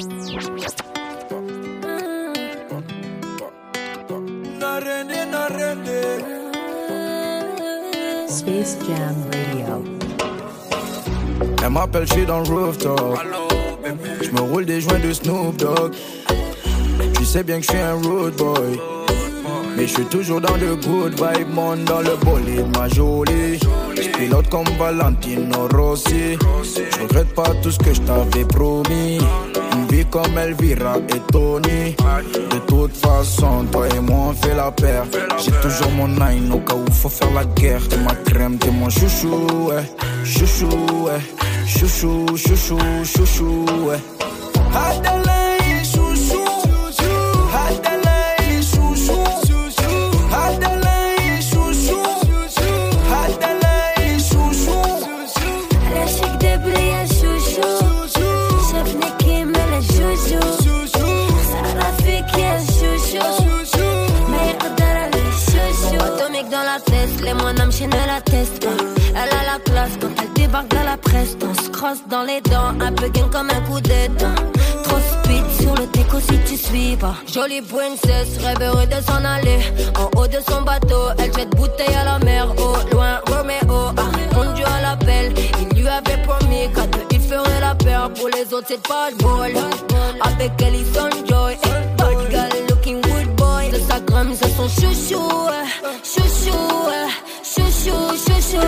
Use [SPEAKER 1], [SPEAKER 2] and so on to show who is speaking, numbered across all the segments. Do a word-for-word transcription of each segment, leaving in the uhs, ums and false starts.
[SPEAKER 1] Space Jam Radio.
[SPEAKER 2] Elle m'appelle, je suis dans le rooftop. Je me roule des joints de Snoop Dogg. Tu sais bien que je suis un road boy, mais je suis toujours dans le good vibe, monte dans le bolide, ma jolie. Je pilote comme Valentino Rossi. Je regrette pas tout ce que je t'avais promis. Une vie comme Elvira et Tony. De toute façon, toi et moi on fait la paire. J'ai toujours mon nine au cas où faut faire la guerre. T'es ma crème, t'es mon chouchou, ouais. Chouchou, ouais. Chouchou, chouchou, chouchou, ouais. Adelaide, chouchou. Adelaide, chouchou. Adelaide, chouchou. Adelaide, chouchou.
[SPEAKER 3] La chic de brillant, chouchou. Chef Nicky, mais le chouchou. Sarah fait qui est chouchou. Mais Adara, le chouchou. Atomique dans la tête, les moines m'enchaînent la teste. Elle a la classe quand elle débarque dans la presse. On se crosse dans les dents, un peu gain comme un coup d'état. Trop speed sur le déco si tu suis pas. Jolie princesse, rêveuse de s'en aller. En haut de son bateau, elle jette bouteille à la mer. Au loin, Roméo a répondu à l'appel. Il lui avait promis qu'à deux il ferait la paire. Pour les autres c'est pas le bol. Avec elle il s'enjoy. Bad girl looking good boy. De sa gramme c'est son chouchou. Chouchou, chouchou, chouchou.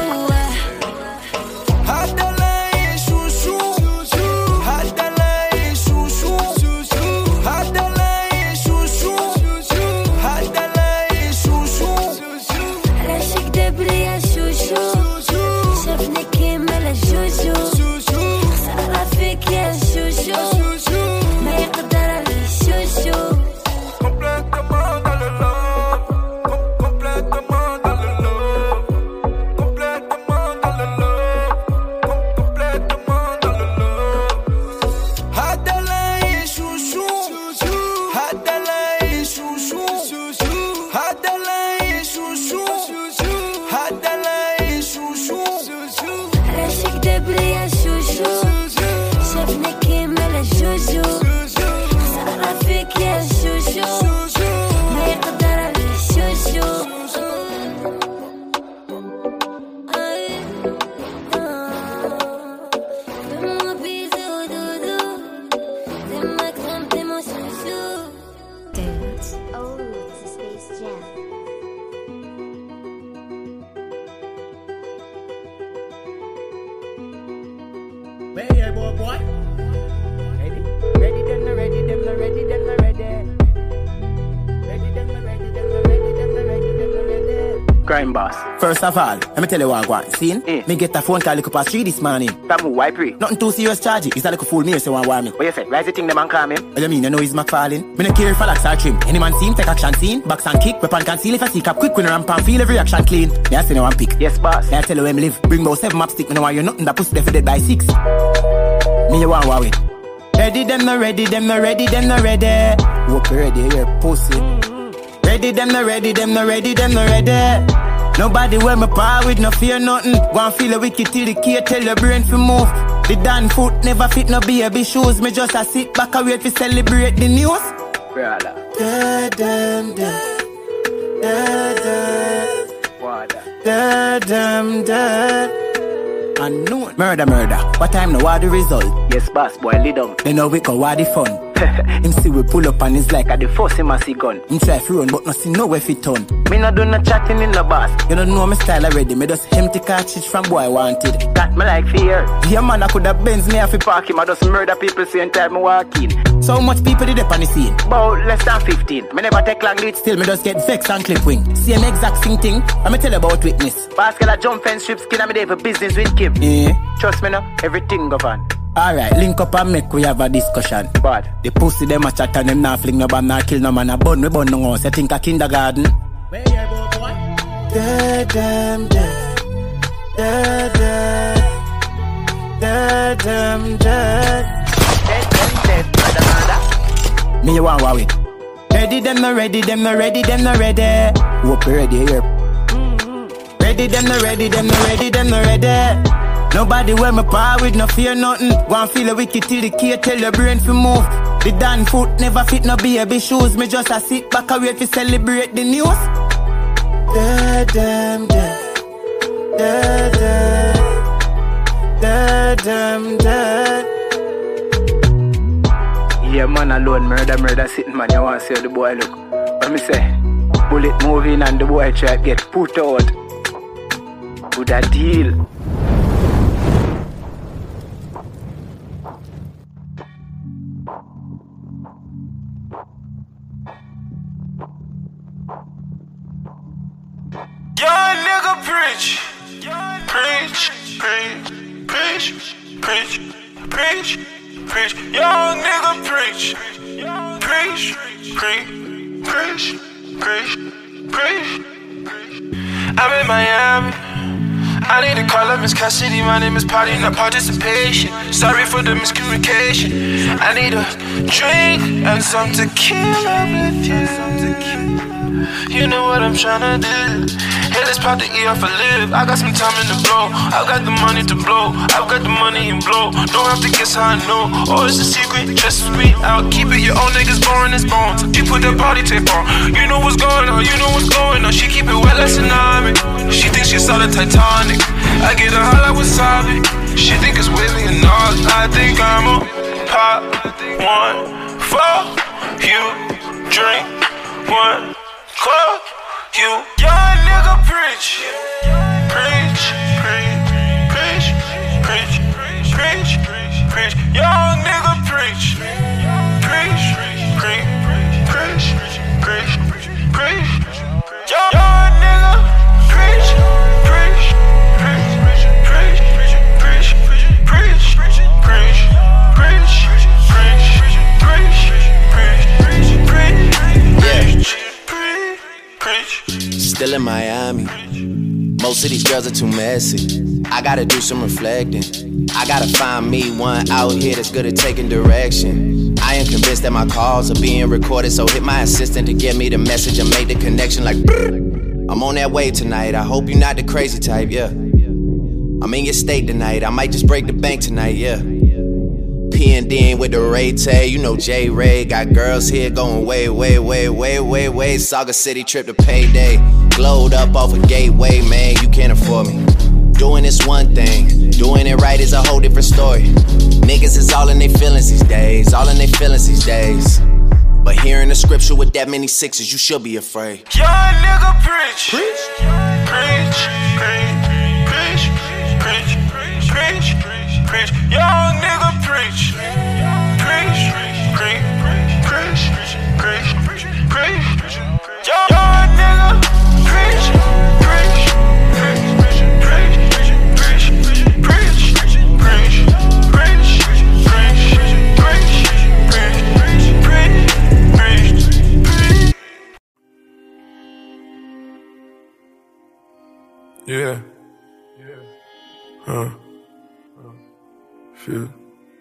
[SPEAKER 2] Adelaide, chouchou. Adelaide, chouchou. Adelaide, chouchou. Adelaide, chouchou.
[SPEAKER 3] La chic de brillant, chouchou. Chef Nicky, mais le chouchou. Sarah fait qui est chouchou. Mais Adara, le chouchou.
[SPEAKER 2] Complètement dans le love. Complètement dans le love. Complètement dans le love. Complètement dans le love. Adelaide, chouchou. Adelaide, chouchou. Adelaide, chouchou. Adelaide, chouchou.
[SPEAKER 3] La chic de brillant, chouchou. Chef Nicky, mais le chouchou. Sarah fait qui est chouchou. Mais Adara, le chouchou. Aïe, ah. Fais-moi bisou, doudou. T'es ma crème, t'es mon chouchou.
[SPEAKER 1] Dance.
[SPEAKER 4] Oh, it's a Space Jam.
[SPEAKER 5] Hey, hey, boy, boy. Ready? Ready, then the ready, then the ready, then the ready. Ready, then the ready, then the ready, then the ready, then the ready.
[SPEAKER 6] Crime boss.
[SPEAKER 5] First of all, let me tell you what I want. See?
[SPEAKER 6] Eh.
[SPEAKER 5] Me get a phone call like past three this morning.
[SPEAKER 6] That move, why pray?
[SPEAKER 5] Nothing too serious charge. It's a little fool me, so one want me.
[SPEAKER 6] What you say? Why is the thing them and call me?
[SPEAKER 5] What you mean? You know he's McFarlane? Me no care if I like trim. Any man see him, take action scene. Box and kick, weapon conceal. If I see cap quick, when I ramp and feel every action clean. Me I say no one pick.
[SPEAKER 6] Yes, boss.
[SPEAKER 5] Me I tell you where me live. Bring about seven map stick. Me no want you nothing that pussy dead by six. Me you want Huawei. Ready, them no ready, them no ready, them no ready. Walk ready, here pussy. Ready, them no ready, them no ready, them no ready. Nobody wear my power with no fear nothing. One feel a wicked till the key tell your brain to move. The damn foot never fit no baby shoes. Me just a sit back and wait to celebrate the news.
[SPEAKER 6] Brother.
[SPEAKER 5] Da dum da, da da,
[SPEAKER 6] Water.
[SPEAKER 5] da dum da. Unknown. Murder, murder. What time now? What the result?
[SPEAKER 6] Yes, boss, boy, lead on.
[SPEAKER 5] They know we go what the fun. Him see we pull up and it's like
[SPEAKER 6] At the first him a see gun.
[SPEAKER 5] him try to run but nothing nowhere fit turn.
[SPEAKER 6] Me not do no chatting in the boss.
[SPEAKER 5] You don't know my style already. Me just empty cartridge from boy wanted.
[SPEAKER 6] Got me like fear.
[SPEAKER 5] Yeah man, I could have Benz me off it.
[SPEAKER 6] Park him, I just murder people same time me walk in.
[SPEAKER 5] So much people did up on the scene.
[SPEAKER 6] About less than fifteen. Me never take long leads.
[SPEAKER 5] Still me just get vexed and clip wing. Same exact same thing. I'ma tell you about witness.
[SPEAKER 6] Basket a jump fence strip skin and me there for business with Kim.
[SPEAKER 5] Yeah.
[SPEAKER 6] Trust me now, everything go on.
[SPEAKER 5] Alright, link up and make we have a discussion.
[SPEAKER 6] Bad.
[SPEAKER 5] The pussy them a chat and them not fling no bomb, not kill no man. A bun we bun no house. You think a kindergarten?
[SPEAKER 7] Where you boy, boy?
[SPEAKER 5] Da dum da, da da, da dum da.
[SPEAKER 6] Dead, dead, dead, brother, brother.
[SPEAKER 5] Me you want Huawei. Ready, them no ready, them no ready, them no ready. Hope you ready here. Ready, them no ready, them no ready, them no ready. Nobody wear my power with no fear nothing. One feel a wicked till the key tell your brain to move. The Dan foot never fit no baby shoes. Me just a sit back and wait to celebrate the news. Dead, damn, dead. Dead, dead. Dead, damn, dead. Yeah, man alone, murder, murder sitting, man. You want to see how the boy look. What me say? Bullet moving and the boy try to get put out. Good a deal.
[SPEAKER 7] Young nigga preach, preach, preach, preach, preach, preach, preach. Young nigga preach, preach, preach, preach, preach, preach. I'm in Miami. I need to call up Miss Cassidy. My name is Party, not participation. Sorry for the miscommunication. I need a drink and some tequila with you. You know what I'm tryna do. Hey, let's pop the E off a live. I got some time in the blow. I've got the money to blow. I've got the money and blow. Don't have to guess how I know. Oh, it's a secret, trust me. I'll keep it. Your own niggas boring as bones. You put that body tape on. You know what's going on. You know what's going on. She keep it wet like tsunami. She thinks she saw the Titanic. I get her hot like wasabi. She think it's with me and all. I think I'm a pop one for you. Drink one. Club, you young nigga preach, preach, preach, preach, preach, preach, preach, young nigga preach, preach, preach, preach, preach, preach, young nigga preach, preach, preach, preach, preach, preach, preach, preach, preach, preach, preach.
[SPEAKER 8] Still in Miami. Most of these girls are too messy. I gotta do some reflecting. I gotta find me one out here that's good at taking direction. I am convinced that my calls are being recorded, so hit my assistant to get me the message and make the connection like brrr. I'm on that wave tonight. I hope you're not the crazy type, yeah. I'm in your state tonight. I might just break the bank tonight, yeah. P and D with the Ray Tay, you know J Ray. Got girls here going way, way, way, way, way, way. Saga City trip to payday. Glowed up off a gateway, man, you can't afford me. Doing this one thing, doing it right is a whole different story. Niggas is all in their feelings these days, all in their feelings these days. But hearing the scripture with that many sixes, you should be afraid.
[SPEAKER 7] Young nigga preach, preach, preach, preach, preach, preach, preach, preach. Young nigga preach, preach, preach, preach, preach, preach, preach. Young nigga preach, preach, preach, preach, preach, preach, preach, preach, preach, preach, preach. Yeah. Huh. Shit.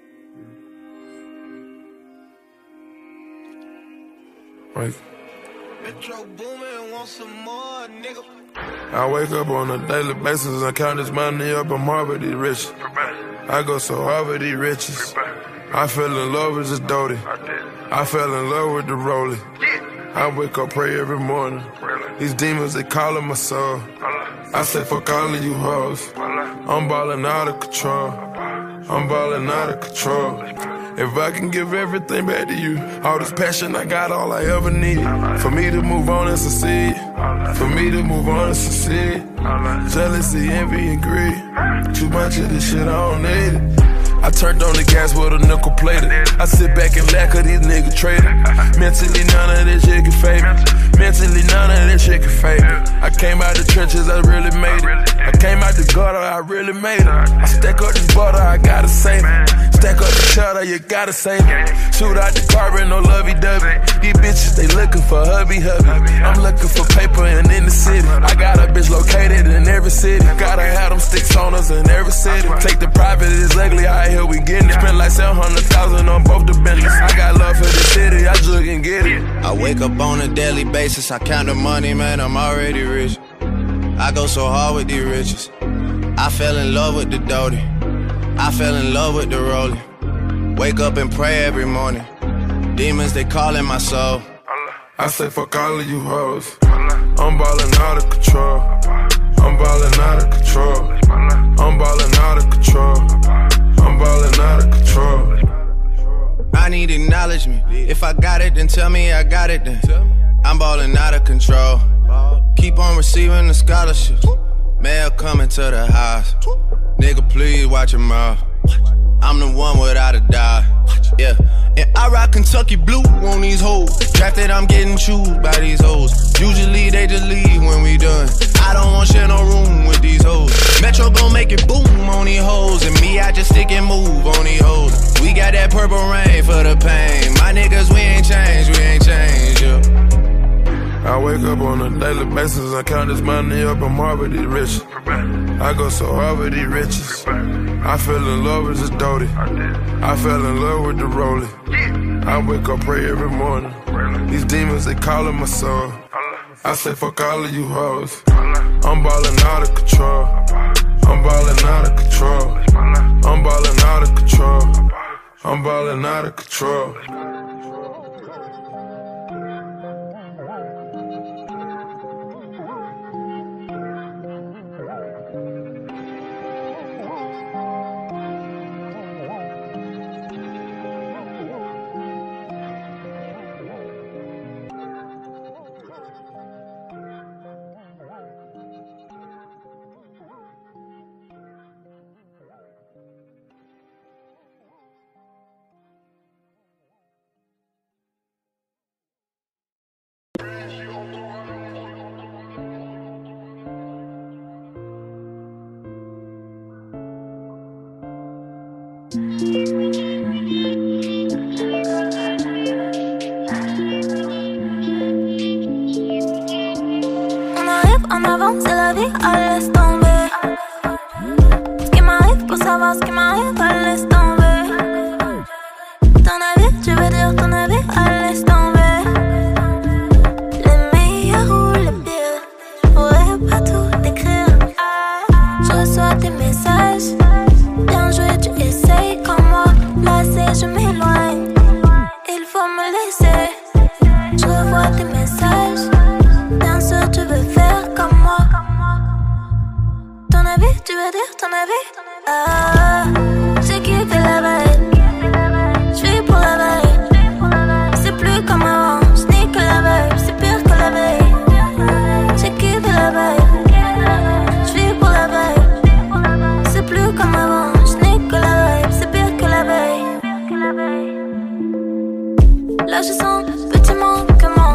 [SPEAKER 7] Like, Metro booming, want some more, nigga. I wake up on a daily basis and count this money up. I'm hard with these riches. I go so hard with these riches. I fell in love with this Doty. I fell in love with the Rollie. I wake up, pray every morning. These demons, they calling my soul. I say, fuck all of you hoes. I'm balling out of control. I'm balling out of control. If I can give everything back to you, all this passion I got, all I ever needed. For me to move on and succeed. For me to move on and succeed. Jealousy, envy, and greed. Too much of this shit, I don't need it. I turned on the gas with a nickel plater. I sit back and laugh cause these niggas traded. Mentally none of this shit can fade me. Mentally none of this shit can fade me. I came out the trenches, I really made it. I came out the gutter, I really made it. I stack up this butter, I gotta save it. Stack up the cheddar, you gotta save it. Shoot out the carbon, no lovey-dovey. These bitches, they looking for hubby-hubby. I'm looking for paper and in the city. I got a bitch located in every city. Gotta have them sticks on us in every city. Take the private, it's ugly, I here we getting it. Spend like seven hundred thousand on both the business. I got love for the city, I just can get it.
[SPEAKER 8] I wake up on a daily basis, I count the money, man, I'm already rich. I go so hard with these riches. I fell in love with the Doty. I fell in love with the Rollie. Wake up and pray every morning. Demons, they calling my soul.
[SPEAKER 7] I say fuck all of you hoes. I'm ballin' out of control. I'm ballin' out of control. I'm ballin' out of control. I'm ballin' out of control.
[SPEAKER 8] I need acknowledgement. If I got it, then tell me I got it then. I'm ballin' out of control. Keep on receiving the scholarships. Mail coming to the house. Nigga, please watch your mouth. I'm the one without a doubt. Yeah. And I rock Kentucky blue on these hoes. Drafted, I'm getting chewed by these hoes. Usually they just leave when we done. I don't want share no room with these hoes. Metro gon' make it boom on these hoes. And me, I just stick and move on these hoes. We got that purple rain for the pain. My niggas, we ain't changed, we ain't changed, yeah.
[SPEAKER 7] I wake up on a daily basis, I count this money up, I'm already rich. I go so hard with these riches. I fell in love with this Doty. I fell in love with the rollie. I wake up, pray every morning. These demons, they calling my soul. I say fuck all of you hoes. I'm ballin' out of control. I'm ballin' out of control. I'm ballin' out of control. I'm ballin' out of control.
[SPEAKER 3] On arrive en avant, c'est la vie, à laisse tomber. Ce qui m'arrive, pour savoir ce qui m'arrive, à laisse tomber. Ton avis, tu veux dire ton avis, à laisse tomber. Les meilleurs ou les pires, je pourrais pas tout décrire. Je reçois tes messages, bien joué, tu essayes comme moi. Lassé, je m'éloigne, il faut me laisser. Je revois tes messages, bien sûr tu veux faire comme moi. Ton avis, tu veux dire ton avis? Ah, j'ai kiffé la veille, j'vis pour la veille. C'est plus comme avant, j'n'ai que la veille, c'est pire que la veille. J'ai kiffé la veille, j'vis pour la veille. C'est plus comme avant, j'n'ai que la veille, c'est pire que la veille. Là je sens petit manquement.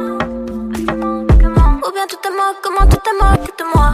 [SPEAKER 3] Ou bien tout est mort, comment tout est mort de moi.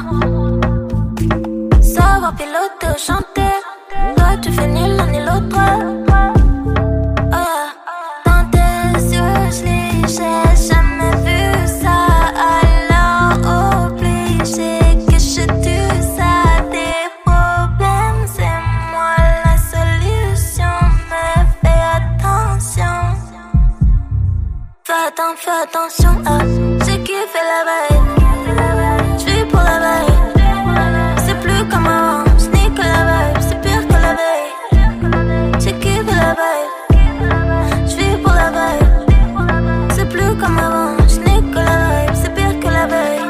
[SPEAKER 3] Savoir piloter ou chanter, toi tu fais ni l'un ni l'autre. Oh yeah. Dans tes yeux je lis, j'ai jamais vu ça. Alors obligé que je tue ça. Des problèmes c'est moi la solution. Mais fais attention. Fais attention, fais attention, ah. J'ai kiffé la veille, j'vis pour la veille. C'est plus comme avant, j'n'ai que la veille, c'est pire que la veille. J'ai kiffé la veille, j'vis pour la veille. C'est plus comme avant, j'n'ai que la veille, c'est pire que la veille.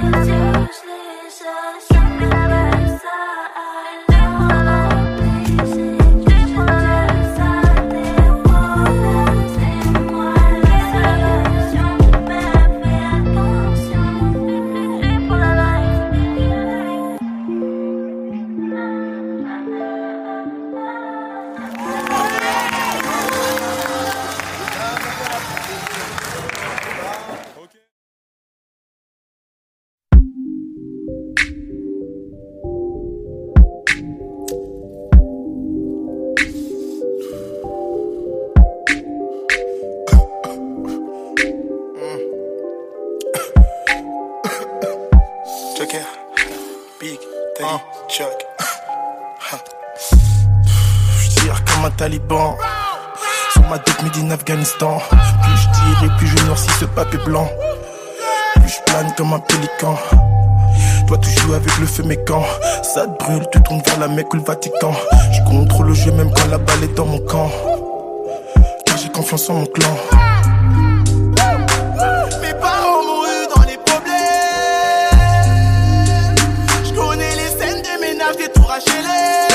[SPEAKER 9] Taliban. Sur ma dope made in Afghanistan. Plus je tire et plus je noircis ce papier blanc. Plus je plane comme un pélican. Toi tu joues avec le feu mais quand ça te brûle, tu tournes vers la Mecque ou le Vatican. Je contrôle le jeu même quand la balle est dans mon camp. j'ai confiance en mon clan.
[SPEAKER 10] Mes parents m'ont eu dans les problèmes. Je connais les scènes de ménage, des tours H L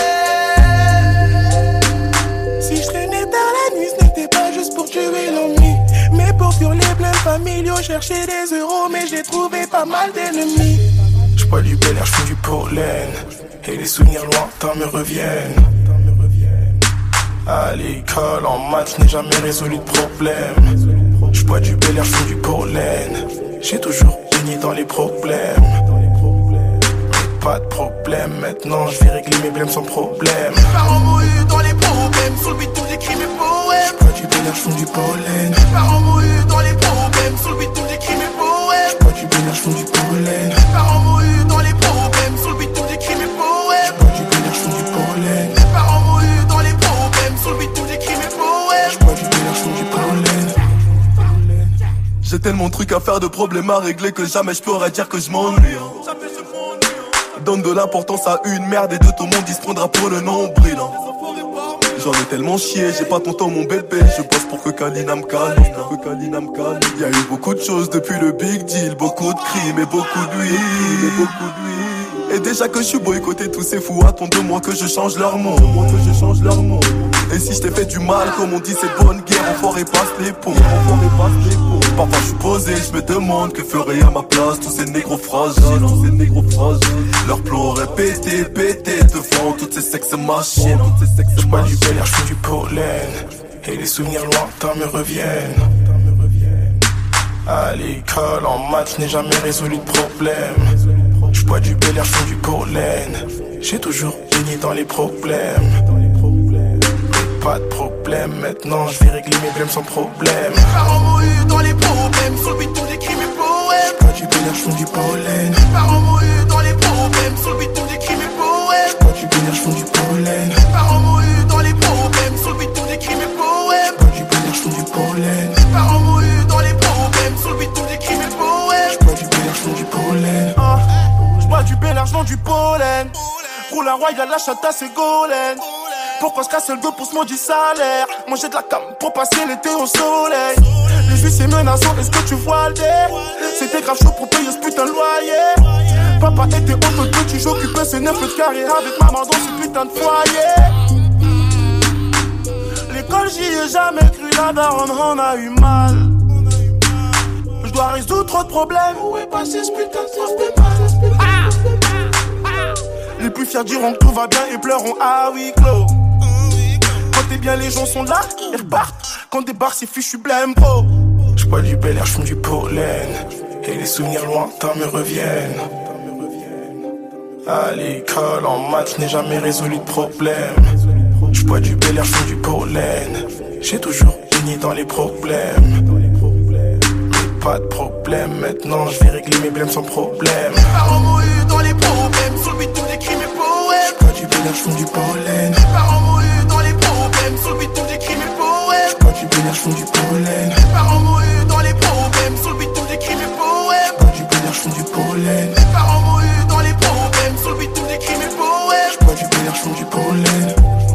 [SPEAKER 10] M. Si je traînais tard la nuit, ce n'était pas juste pour tuer l'ennui, mais pour fuir les blèmes familiaux, chercher des euros, mais j'ai trouvé pas mal d'ennemis.
[SPEAKER 9] Je bois du bel air, je fume du pollen, et les souvenirs lointains me reviennent. À l'école, en maths, je n'ai jamais résolu de problème. Je bois du bel air, je fume du pollen, j'ai toujours baigné dans les problèmes. Mais pas de problème, maintenant je vais régler mes blèmes sans problème.
[SPEAKER 10] Mes parents m'ont eu dans les problèmes, sous le bitume j'écris mes poèmes.
[SPEAKER 9] Je bois du bel air, je fume du pollen.
[SPEAKER 10] Mes parents m'ont eu dans les problèmes, sous le bitume j'écris mes poèmes.
[SPEAKER 9] Je bois du bel air, je fume du pollen.
[SPEAKER 10] Mes parents m'ont eu dans les problèmes, sous le bitume j'écris mes poèmes.
[SPEAKER 9] Je bois du bel air, je fume du pollen.
[SPEAKER 10] Mes parents m'ont eu dans les problèmes, sous le bitume j'écris mes poèmes.
[SPEAKER 9] Je bois du bel air, je fume du pollen.
[SPEAKER 11] J'ai tellement de trucs à faire, de problèmes à régler que jamais je pourrais dire que je m'ennuie. Donne de l'importance à une merde et de tout le monde il se prendra pour le nombril. J'en ai tellement chié, j'ai pas ton temps mon bébé. Je bosse pour que Kalina me calme, pour que Kalina me calme. Y'a eu beaucoup de choses depuis le big deal, beaucoup de crimes et beaucoup d'huile, et beaucoup d'huile. Et déjà que je suis boycotté, tous ces fous attendent de moi que je change leur monde, que je change leur monde. Et si je t'ai fait du mal, comme on dit c'est bonne guerre, on forêt passe les ponts, on forêt passe les ponts. Parfois je suis posé, je me demande que ferait à ma place tous ces négros fragiles, tous ces négros fragiles. Leur plan aurait pété, pété devant toutes ces sexes machines, toutes ces sexes
[SPEAKER 9] Je bois du
[SPEAKER 11] machines.
[SPEAKER 9] bel air, je fume du pollen, et les souvenirs lointains me reviennent. À l'école, en maths, je n'ai jamais résolu de problème. Je bois du bel air, je fume du pollen, j'ai toujours baigné dans les problèmes. Pas de problème, maintenant je vais régler mes blèmes sans problème.
[SPEAKER 10] Mes parents m'ont eu dans les problèmes, sous le bitume j'écris mes poèmes.
[SPEAKER 9] Je bois du bel air, je fume du pollen.
[SPEAKER 10] Mes parents m'ont eu dans les problèmes, sous le bitume j'écris mes poèmes.
[SPEAKER 9] Je bois du bel air, je fume du pollen.
[SPEAKER 10] Mes parents m'ont eu dans les problèmes, sous le bitume j'écris mes poèmes.
[SPEAKER 9] Je bois du bel air, je fume du pollen.
[SPEAKER 10] Mes parents m'ont eu dans les problèmes, sous le bitume j'écris mes poèmes.
[SPEAKER 9] Je bois du bel air, je fume du pollen.
[SPEAKER 10] Ah, je bois du bel air, je vends du pollen. Roule un royal, la chata c'est golden. Pourquoi se casser le dos pour ce maudit salaire? Manger de la cam pour passer l'été au soleil. Les juifs c'est menaçant, est-ce que tu vois le dé? C'était grave chaud pour payer ce putain de loyer. Papa était auto de petit, j'occupais ce neuf mètres carrés avec maman dans ce putain de foyer. L'école j'y ai jamais cru, la daronne on a eu mal. Je dois résoudre trop de problèmes. Où est passé ce putain de système? Ah! Les plus fiers diront que tout va bien et pleureront à huis clos. Quand t'es bien, les gens sont là, ils repartent. Quand des barres, c'est fichu blême, bro.
[SPEAKER 9] Je bois du bel air, je fume du pollen, et les souvenirs lointains me reviennent. À l'école, en maths, je n'ai jamais résolu de problème. Je bois du bel air, je fume du pollen, j'ai toujours baigné dans les problèmes. Mais pas de problème, maintenant je vais régler mes blèmes sans problème.
[SPEAKER 10] Mes parents m'ont eu dans les problèmes, sous le bitume j'écris mes poèmes.
[SPEAKER 9] Je bois du bel air, je fume du pollen.
[SPEAKER 10] Mes parents m'ont eu dans les problèmes, sous le bitume j'écris mes poèmes.
[SPEAKER 9] Je bois du bel air, je fume du pollen.
[SPEAKER 10] Mes parents m'ont eu dans les problèmes, sous le bitume j'écris mes poèmes.
[SPEAKER 9] Je bois du bel air, je fume du pollen.
[SPEAKER 10] Mes parents m'ont eu dans les problèmes, sous le bitume j'écris mes poèmes.
[SPEAKER 9] Je bois du bel air, je fume du pollen.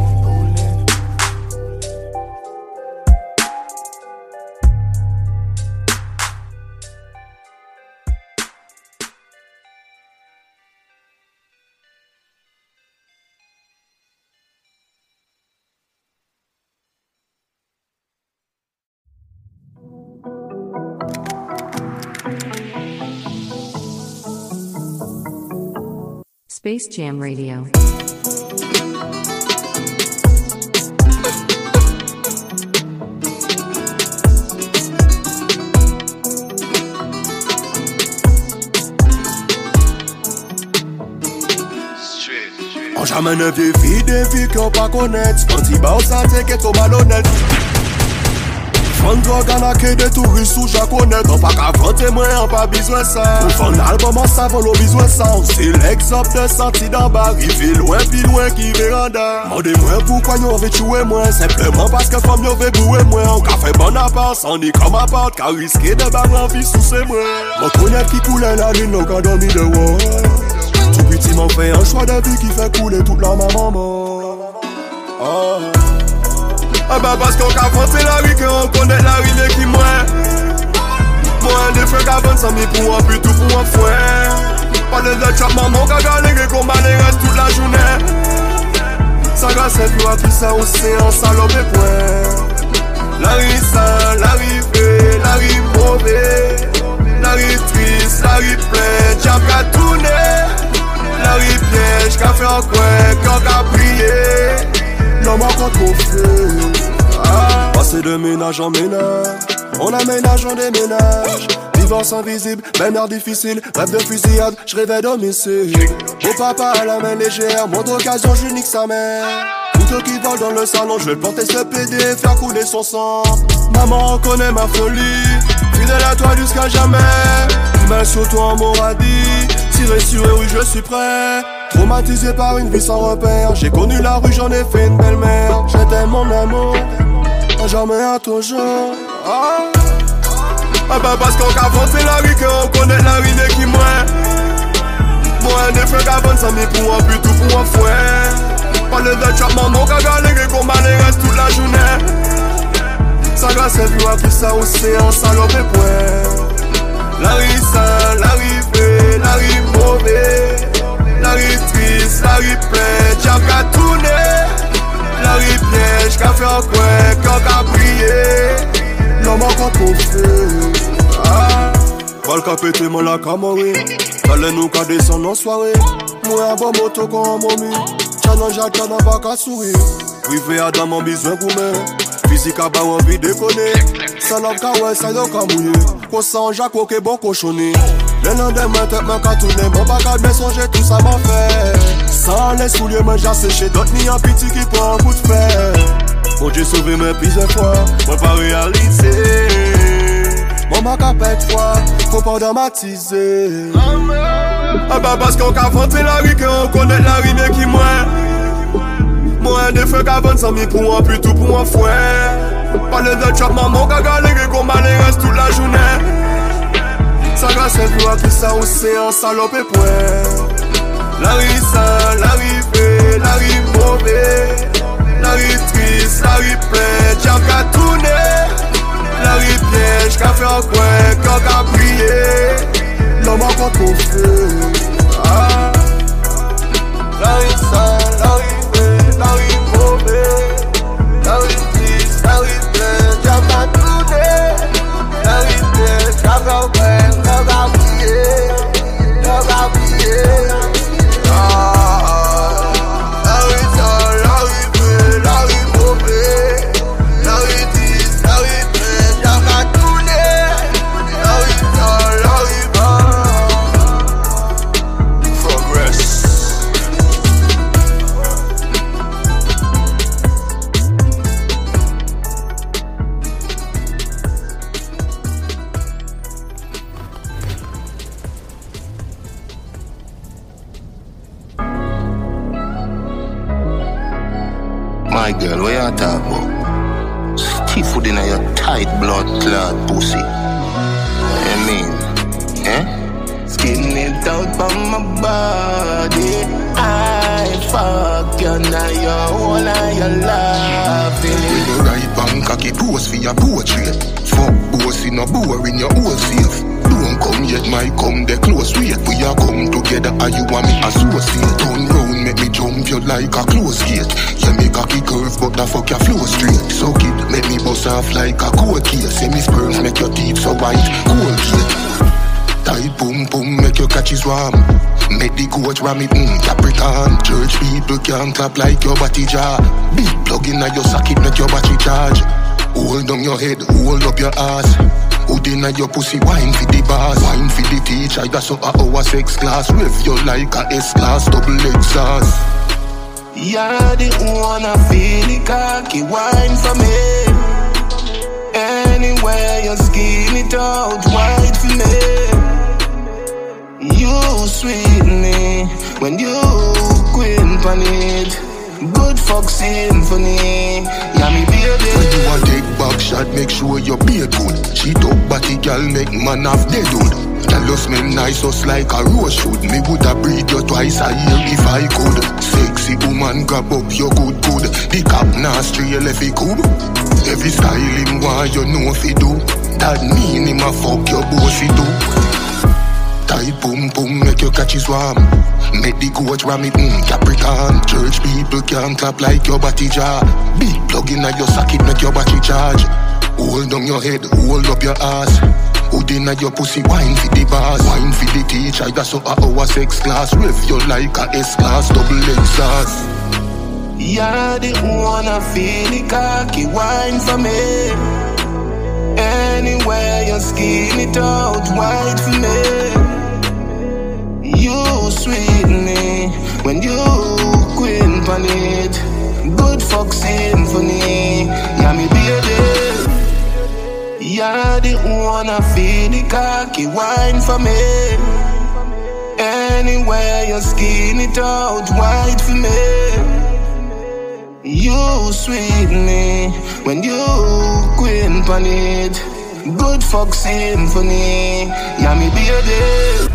[SPEAKER 1] Space Jam Radio.
[SPEAKER 11] On jamais ne vieille fille, des filles qui ont pas connaître. Quand ils bas, ça t'est qu'être trop malhonnête. Fond drogue en a que des touristes ou japonais. On pas qu'à vanter moi, on pas besoin ça. Pour fond album, on savon, on besoin ça. C'est l'exemple de sortie d'en bas. Il fait loin, puis loin qui véranda. Mandez-moi pourquoi nous on veut tuer moi. Simplement parce que femme nous veut bouer moi. On qu'a fait bon appart, sans ni comme appart. Car risqué de barrer en vie sous ses moi. Mon connaît qui coulait la lune, on a dormi de haut. Tout petit m'en fait un choix de vie qui fait couler toute la maman. Oh. Ah bah parce qu'on a fronté la rue, qu'on connaît la rue qui moins. Moi des frères qui avancent sans mi pour un but ou pour un fouet. Pas de date chap maman qui a galéré qu'on balait reste toute la journée. Ça grâce à toi qui ça océan salope et point. La rue sale, la rue vraie, la rue mauvaise. La rue triste, la rue pleine, chap qu'a tourné. La rue piège, qu'a fait un coin, quand qu'a prié. Non m'a pas trop fait. Ah. Passer de ménage en ménage, on aménage, on déménage. Divorce invisible, même heure difficile, rêve de fusillade, je rêvais domicile. Mon papa à la main légère, montre occasion, je nique sa mère. Couteau qui vole dans le salon, je vais le porter ce P D, faire couler son sang. Maman reconnaît ma folie, fidèle à toi jusqu'à jamais. Main sur toi, on m'aura dit, tiré sur eux, oui je suis prêt. Traumatisé par une vie sans repère, j'ai connu la rue, j'en ai fait une belle-mère. J'étais mon amour, à jamais à toujours. Ah. Ah bah parce qu'on a fronté la rue, qu'on connaît la rue qui moins. Moi des frères qui avancent sans mi pour un but ou pour un fouet. Pas de date chap maman qui a galéré qu'on balait reste toute la journée. Ça grâce à toi qui ça océan salope et point. La rue sale, la rue vraie, la rue mauvaise. La rue triste, la rue pleine, chap qu'a tourné. La rue piège, qu'a fait un coin, quand qu'a prié. Non m'a pas trop fait. Ah. Val qu'a pété mon lac à mourir. Fallait nous qu'a descendre en soirée. Moi un bon moto qu'on a momi. Challenge à t'en a pas qu'à sourire. Privé à dans mon besoin gourmet. Physique à bas envie déconner. Salope qu'a ouais, salope qu'a mouillé. Qu'on s'en jacques au que bon cochonné. Le lendemain tête m'a qu'à tourner. Mon bac à bien songer tout ça m'a fait. Sans les souliers moi j'ai séché. D'autres ni un petit qui prend un coup de fer. Bon Dieu sauvé mes plusieurs fois, moi pas réalisé. Mon bac à pète froid, faut pas dramatiser. Ah bah parce qu'on a fronté la rue, qu'on connaît la rue qui moins. Moi des frères qui avancent sans mi pour un but ou pour un fouet. Pas de date chap maman qui a galéré qu'on balait reste toute la journée. Ça grâce à toi qui ça océan salope et point. La rue sale, la rue vraie, la rue mauvaise. La rue triste, la rue pleine, chap qu'a tourné. La rue piège, qu'a fait un coin, quand qu'a prié. Non m'a pas trop fait. Ah. La rue sale, la rue vraie, la rue mauvaise. La rue triste, la rue pleine, chap qu'a tourné. La rue piège, qu'a fait un coin, quand qu'a prié. Quand qu'a prié. Ah.
[SPEAKER 12] My girl, what you talk about? Stiff food in your tight blood clot pussy. I mean, eh? Skin it out from my body. I fuck you now, your whole and your laughing.
[SPEAKER 13] With the right bank, cocky pose for your portrait. Fuck bossy, no boring, your whole safe. Don't come yet, my come the close wait. We are come together, and you want me associate. Turn round, make me jump you like a close gate. You make a kick curve, but the fuck your flow straight. So kid, make me bust off like a cold case. Say me sperms make your teeth so white, cold cake. Tight boom boom, make your catches warm. Make the coach ram it, mm, Capricorn. Church people can't clap like your body jar. Big plug in your socket, make your battery charge. Hold down your head, hold up your ass. Hood inna your pussy, wine for the boss. Wine for the teacher, that's how our sex class. Rev you like a S-class, double exhaust.
[SPEAKER 12] You're the one I feel the cocky wine for me. Anywhere you skin it out, white for me. You sweet me when you queen pan it. Good fuck symphony, yeah me baby.
[SPEAKER 13] When you a take back shot, make sure your beard good. She talk body girl, make man have dead hood. Tell us me nice us like a rose should. Me woulda breed you twice a year if I could. Sexy pussy woman grab up your good good. The cap now stray left it cool. Every style him want you know if he do. That mean him a fuck your bossy too. Tight boom boom make your catch his warm. Make the coach ram it, mm, Capricorn. Church people can't clap like your body jar. Big plug in at your socket make your battery charge. Hold on your head, hold up your ass. Hood in at your pussy, wine for the bars. Wine for the teacher, that's so a our sex class. Rev you like a S-class, double exhaust.
[SPEAKER 12] You're the one I feel the cocky wine for me. Anywhere you skin it out white for me. You sweet me when you queen on it. Good fuck symphony, yeah me baby. You're the one I feel the cocky wine for me. Anywhere you skin it out white for me. You sweet me when you queen on it. Good fuck symphony, yeah me baby.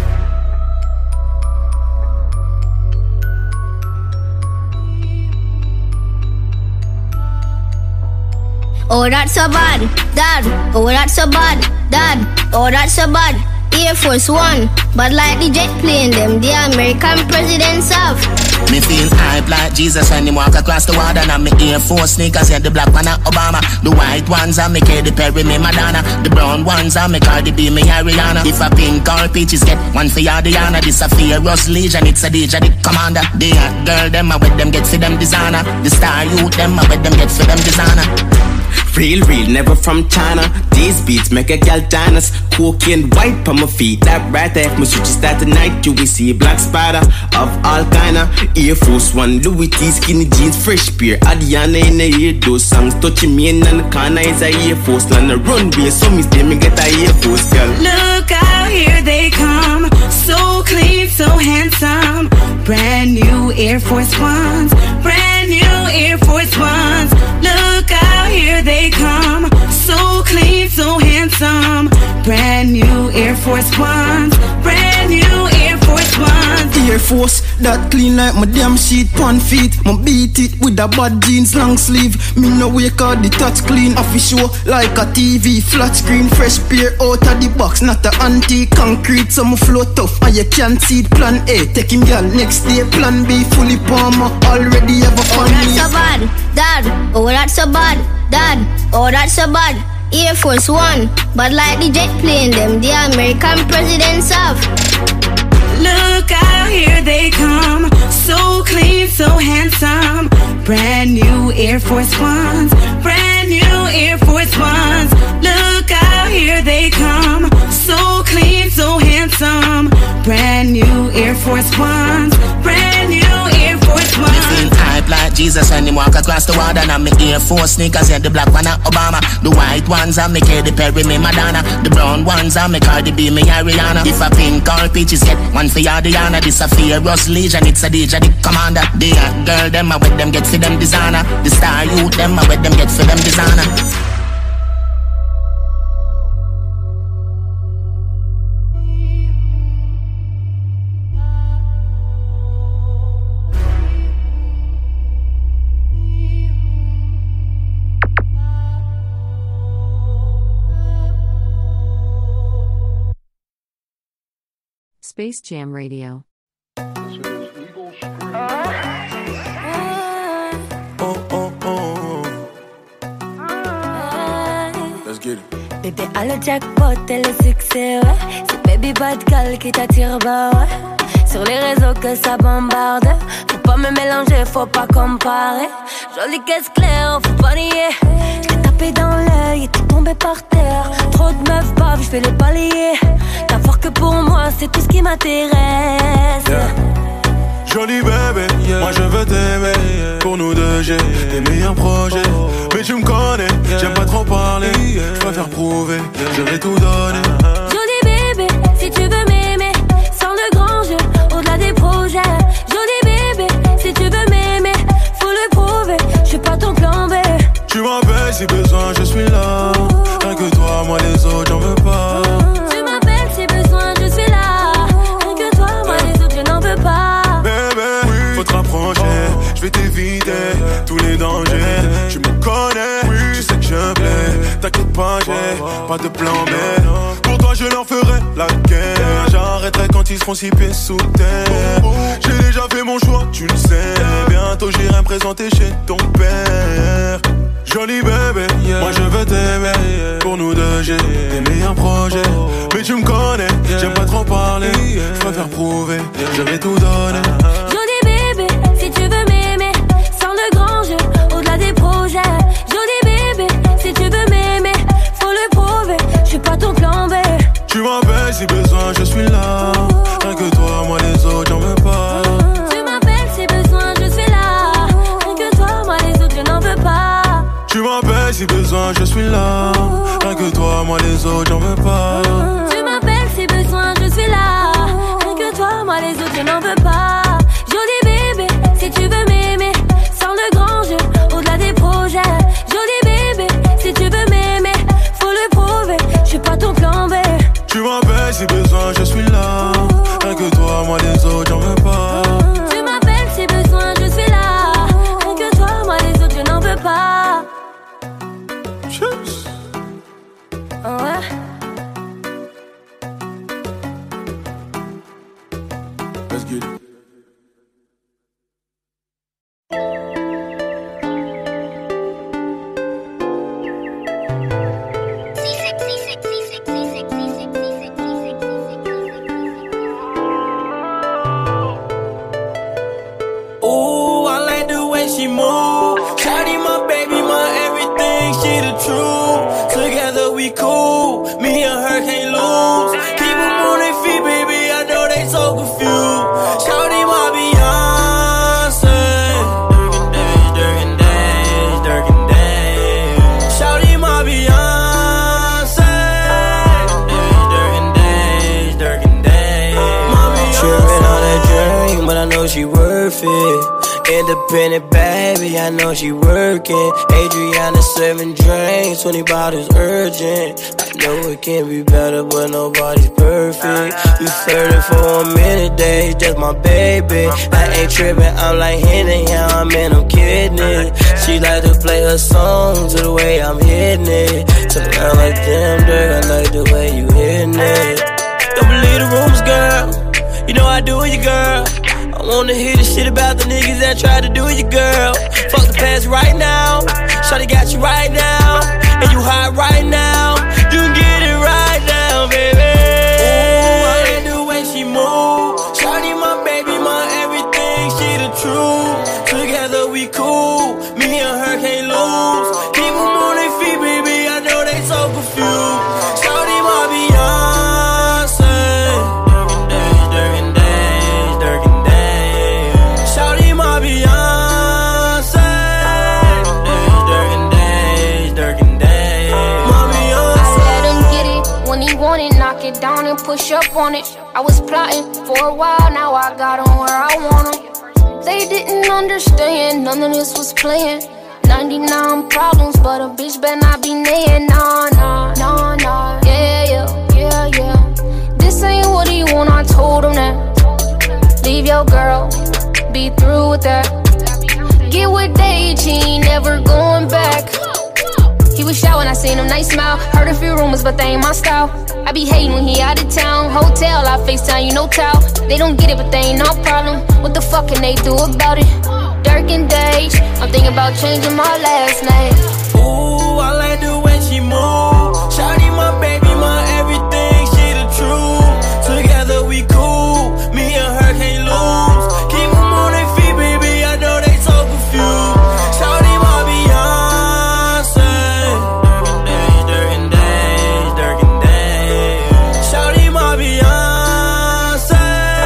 [SPEAKER 14] Oh, that's so bad, Dad. Oh, that's so bad, Dad. Oh, that's so bad. Air Force One, but like the jet plane, them the American presidents have.
[SPEAKER 5] Me feel hype like Jesus when him walk across the water. And me Air Force sneakers, yeah, the black one are Obama. The white ones are me Katy Perry, me Madonna. The brown ones are me Cardi B, me Ariana. If a pink or peaches get one for ya, Diana. This a Fearless Legion, it's a D J, the commander. The hot girl, them a with them get for them designer. The star youth, them a with them get for them designer.
[SPEAKER 15] Real, real, never from China. These beats make a gal dance. Cocaine white on my feet, that right there. If my switches start tonight, you will see a black spider of all kinda. Air Force One, Louis T, skinny jeans, fresh beer. Adiana in the ear, those songs touching me in the corner is a Air Force. On the runway, so me stay me get a Air Force, girl.
[SPEAKER 16] Look out, here they come. So clean, so handsome. Brand new Air Force Ones. Brand new Air Force Ones. Look out, here they come. So clean, so handsome. Brand new Air Force Ones. Brand new Air Force Ones.
[SPEAKER 9] Air Force that clean like my damn sheet pan feet. My beat it with a bad jeans long sleeve. Me no wake out the touch clean. Official like a T V flat screen. Fresh pair out of the box, not a antique concrete. So my flow tough and you can't see it. Plan A, take him girl next day. Plan B, fully palmer. Already have a fun.
[SPEAKER 14] Oh, that's so bad, Dad. Oh, that's so bad, Dad. Oh, that's so bad. Air Force One, but like the jet plane, them the American presidents have.
[SPEAKER 16] Look out, here they come. So clean, so handsome. Brand new Air Force Ones. Brand new Air Force Ones. Look out, here they come. So clean, so handsome. Brand new Air Force Ones. Brand new Air Force Ones.
[SPEAKER 5] Me feel hype like Jesus when him walk across the water. And me Air Force sneakers, yeah, the black one are Obama. The white ones are me Katy Perry, me Madonna. The brown ones are me Cardi B, me Ariana. If a pink or peaches get one for ya, Diana. This a Fearless Legion, it's a D J, the commander. The hot girl, them a with them get for them designer. The star youth, them a with them get for them designer.
[SPEAKER 1] Space Jam Radio.
[SPEAKER 9] Let's get it.
[SPEAKER 3] Bébé a le jackpot et le succès, ouais. C'est Baby Bad Gal qui t'attire, bah ouais. Sur les réseaux que ça bombarde. Faut pas me mélanger, faut pas comparer. Jolie caisse claire, faut pas nier. J't'ai tapé dans l'œil et t'es tombé par terre. Trop de meufs baves, j'fais les balayer. T'as que pour moi, c'est tout ce qui m'intéresse.
[SPEAKER 10] Yeah. Jolie bébé, yeah. Moi je veux t'aimer, yeah. Pour nous deux j'ai des meilleurs projets, oh. Mais tu me connais, yeah. J'aime pas trop parler, yeah. Je préfère prouver, yeah. Je vais tout donner.
[SPEAKER 3] Jolie bébé, si tu veux m'aimer, sans le grand jeu, au-delà des projets. Jolie bébé, si tu veux m'aimer, faut le prouver, je suis pas ton plan B.
[SPEAKER 10] Tu m'appelles si besoin, je suis là. Rien que toi, moi les autres, j'en veux pas.
[SPEAKER 3] Tu m'appelles si besoin, je suis là. Rien que toi, moi les autres, je n'en veux pas.
[SPEAKER 10] Bébé, faut te rapprocher pas de plan B. Pour toi je leur ferai la guerre. J'arrêterai quand ils seront six pieds sous terre. J'ai déjà fait mon choix, tu le sais. Bientôt j'irai me présenter chez ton père. Joli bébé, yeah. Moi je veux t'aimer, yeah. Pour nous deux j'ai des meilleurs projets, oh. Mais tu me connais, yeah. J'aime pas trop parler, yeah. Je préfère prouver, yeah. Je vais tout donner.
[SPEAKER 3] Joli bébé, si tu veux m'aimer, sans le grand jeu, au-delà des projets. Joli bébé, si tu veux m'aimer, faut le prouver, je suis pas ton plan B.
[SPEAKER 10] Tu m'appelles si besoin, je suis là. Rien que toi, moi les autres, j'en veux pas.
[SPEAKER 3] Tu m'appelles si besoin, je suis là. Rien que toi, moi les autres, je n'en veux pas.
[SPEAKER 10] Tu m'appelles si besoin, je suis là. Rien que toi, moi les autres, j'en veux pas.
[SPEAKER 3] Tu m'appelles si besoin, je suis là. Rien que toi, moi les autres, je n'en veux pas. Joli bébé, si tu veux m'aimer, sans le grand jeu, au-delà des projets. Joli bébé, si tu veux m'aimer, faut le prouver, je suis pas ton plan B.
[SPEAKER 10] Tu m'appelles si besoin, je suis là. Rien que toi, moi les autres, j'en veux pas.
[SPEAKER 3] Tu m'appelles si besoin, je suis là. Rien que toi, moi les autres, je n'en veux pas.
[SPEAKER 10] Cheers.
[SPEAKER 3] Oh ouais.
[SPEAKER 10] Let's get it.
[SPEAKER 17] Ooh, I like the way she move. Shawty my baby, my everything, she the truth. Together we cool, me and her can't lose. Keep them on their feet, baby, I know they so confused. Shawty my Beyonce. Dirk and days, Dirk and days. Shawty my Beyonce. Dirk and days, Dirk and days. Trippin' on that drink, but I know she worth it. Independent baby, I know she working. Adriana serving drinks, twenty bottles urgent. I know it can be better, but nobody's perfect. You flirting for a minute, days, just my baby. I ain't tripping, I'm like Henny, yeah, I'm in, I'm kidding it. She like to play her song to the way I'm hitting it. Turn around like damn, Dirk, I like the way you hitting it. Don't believe the rumors, girl. You know I do it, girl. I wanna hear the shit about the niggas that tried to do you, girl. Fuck the past right now. Shawty got you right now. And you hot right now. You can get it right now, baby. Ooh, I like the way she move. Shawty my baby, my everything, she the truth. Together we cool, me and her can't lose. Keep them on their feet, baby, I know they so confused. Shawty my Beyonce. Dirk and days, Dirk and days. Shawty my Beyonce. Dirk and days, Dirk and days. My Beyonce.
[SPEAKER 18] I let him get it when he want it, knock it down and push up on it. I was plotting for a while, now I got him where I want him. They didn't understand, none of this was playing. ninety-nine problems, but a bitch better not be naying. Nah, nah, nah, nah. Yeah, yeah, yeah, yeah. This ain't what he want, I told him that. Leave your girl, be through with that. Get with Dage, he ain't never going back. He was shy when I seen him, nice smile. Heard a few rumors, but they ain't my style. I be hating when he out of town. Hotel, I FaceTime, you know towel. They don't get it, but they ain't no problem. What the fuck can they do about it? Dirk and Dage, I'm thinking about changing my last name.
[SPEAKER 17] Ooh, I like the way she move. Shawty my baby, my everything, she the truth. Together we cool, me and her can't lose. Keep them on their feet, baby, I know they so confused. Shawty my Beyonce. Dirk and days, Dirk and days. Shawty my Beyonce.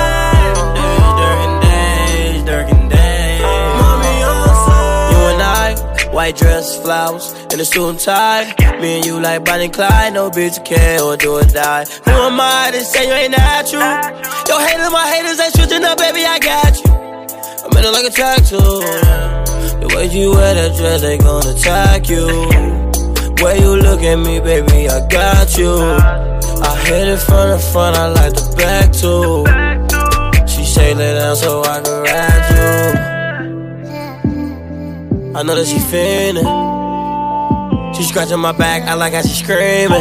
[SPEAKER 17] Dirk and days, Dirk and days. My Beyonce. You and I, white dress, flowers, and a suit and tie. Me and you like Bonnie and Clyde, no bitch care or do or die. Who am I to say you ain't natural? Your haters, my haters ain't switching up, baby, I got you. I'm in it like a tattoo. The way you wear that dress, they gonna attack you. Way you look at me, baby, I got you. I hit it from the front, I like the back too. She say lay down so I can ride you. I know that she feeling. She scratching my back, I like how she screaming.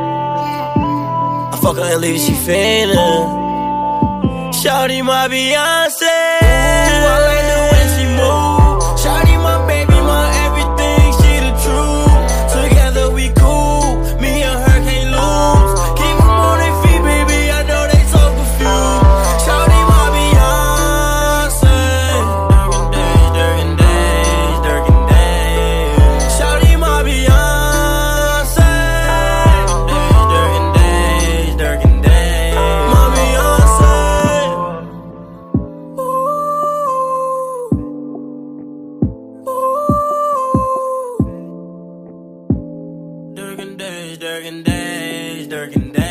[SPEAKER 17] I fuck her and leave she feeling. Shawty my Beyonce. Ooh, I like the way she move. Shawty my baby, my everything, she the truth. Together we cool, me and her can't lose. Keep them on their feet, baby, I know they so confused. Shawty my Beyonce. Durkin days, Durkin days, Durkin days. Shawty my Beyonce. Durkin days, Durkin days, my Beyonce. Durkin days, Durkin days, Durkin days.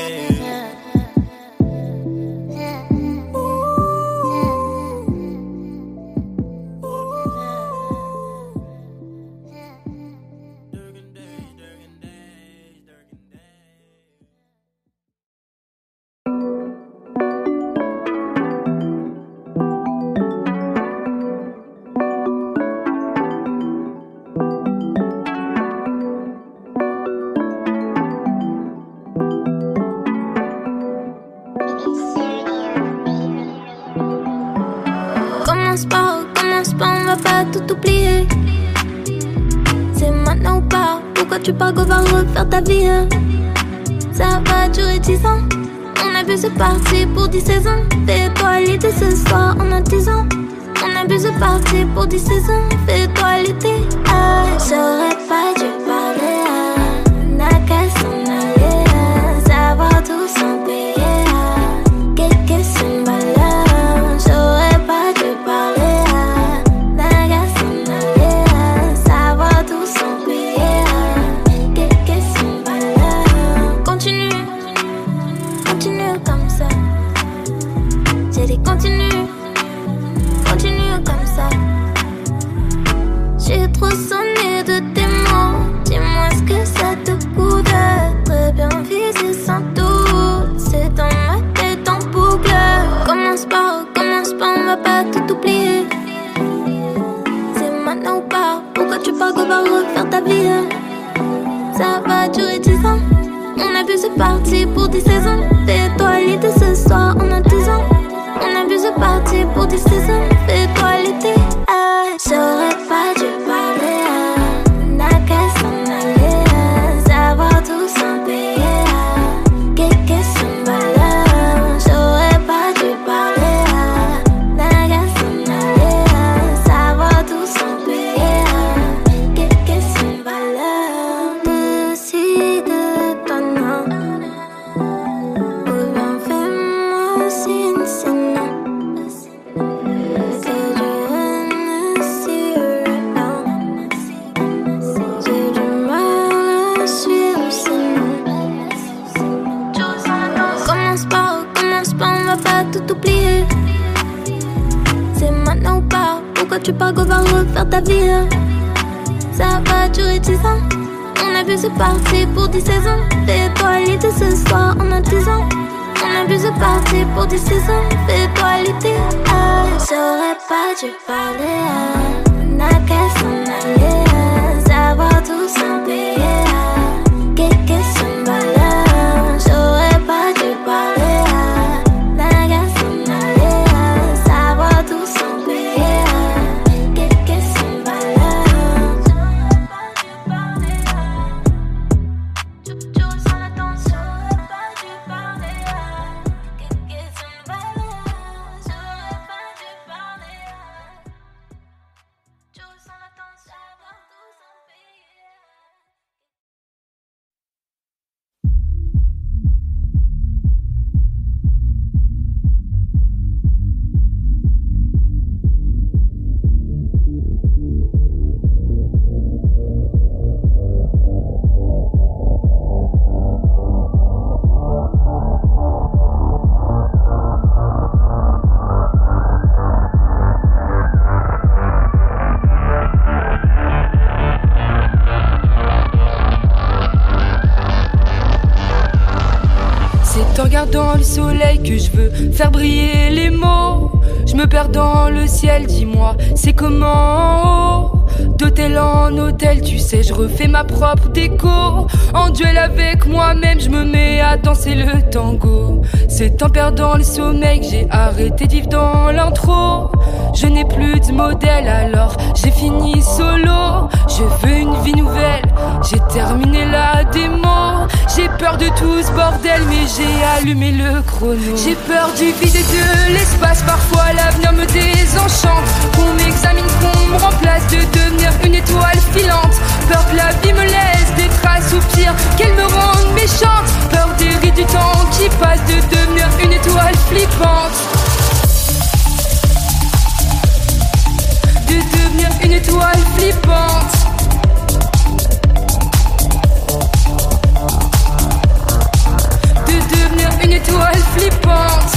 [SPEAKER 3] Commence pas, commence pas, on va pas tout oublier. C'est maintenant ou pas. Pourquoi tu pars qu'on va refaire ta vie, hein? Ça va durer dix ans. On a vu c'est parti pour dix saisons. Fais-toi l'été ce soir, on a dix ans. On a vu c'est parti pour dix saisons. Fais-toi l'été. Ah, j'aurais pas dû parler, ah. N'a qu'à s'en aller, ah. Ça va tout sans payer, ah. Quelques symboles, j'aurais pas dû parler, ah. N'a qu'à s'en aller, ah. Ça va tout sans payer, ah. Quelques symboles. Continue, continue comme ça. J'ai dit continue, continue comme ça. J'ai trop sonné de tes mots. Dis-moi ce que ça te coûte. Très bien visé sans doute. C'est dans ma tête en boucle. Commence pas, commence pas, on va pas tout oublier. C'est maintenant ou pas. Pourquoi tu pars qu'on va refaire ta vie, hein? Ça va durer dix ans. On a vu c'est parti pour dix saisons. Fais-toi l'été ce soir, on a dix ans. On a vu c'est parti pour dix saisons. Fais-toi l'été, ah. J'aurais pas dû parler, ah. N'a qu'à s'en aller, ah. Ça va tout sans payer, ah. Quelques symboles, j'aurais pas dû parler, ah. N'a qu'à s'en aller, ah. Ça va tout sans payer, ah. Quelques symboles. Décide-toi, non. Ou bien fais-moi signe, sinon. C'est du Hennessy, non. J'ai du mal à suivre, sinon. Commence pas, commence pas, on va pas tout oublier. C'est maintenant ou pas. Pourquoi tu pars qu'on va refaire ta vie, hein? Ça va durer dix ans. On a vu c'est parti pour dix saisons. Fais-toi l'été ce soir, on a dix ans. On a vu c'est parti pour dix saisons. Fais-toi l'été, ah. J'aurais pas dû parler, ah. N'a qu'à s'en aller, ah. Ça va tout sans payer, ah. Quelques symboles, j'aurais pas dû parler, ah. N'a qu'à s'en aller, ah. Ça va tout sans payer, ah. Quelques symboles, j'aurais pas dû parler, ah. Tu tu ressens la tension, j'aurais pas dû parler, ah. Quelques symboles, j'aurais pas dû parler, ah. Tu ressens la tension, ça va tout sans payer, ah.
[SPEAKER 19] C'est en regardant le soleil que je veux faire briller les mots. Je me perds dans le ciel, dis-moi, c'est comment en haut. D'hôtel en hôtel, tu sais, je refais ma propre déco. En duel avec moi-même, je me mets à danser le tango. C'est en perdant le sommeil que j'ai arrêté de vivre dans l'intro. Je n'ai plus de modèle, alors j'ai fini solo. Je veux une vie nouvelle, j'ai terminé la démo. J'ai peur de tout ce bordel, mais j'ai allumé le chrono. J'ai peur du vide et de l'espace, parfois l'avenir me désenchante. Qu'on m'examine, qu'on me remplace, de devenir une étoile filante. Peur que la vie me laisse des traces ou pire, qu'elle me rende méchante. Peur des rides du temps qui passe, de devenir une étoile flippante. De devenir une étoile flippante. De devenir une étoile flippante.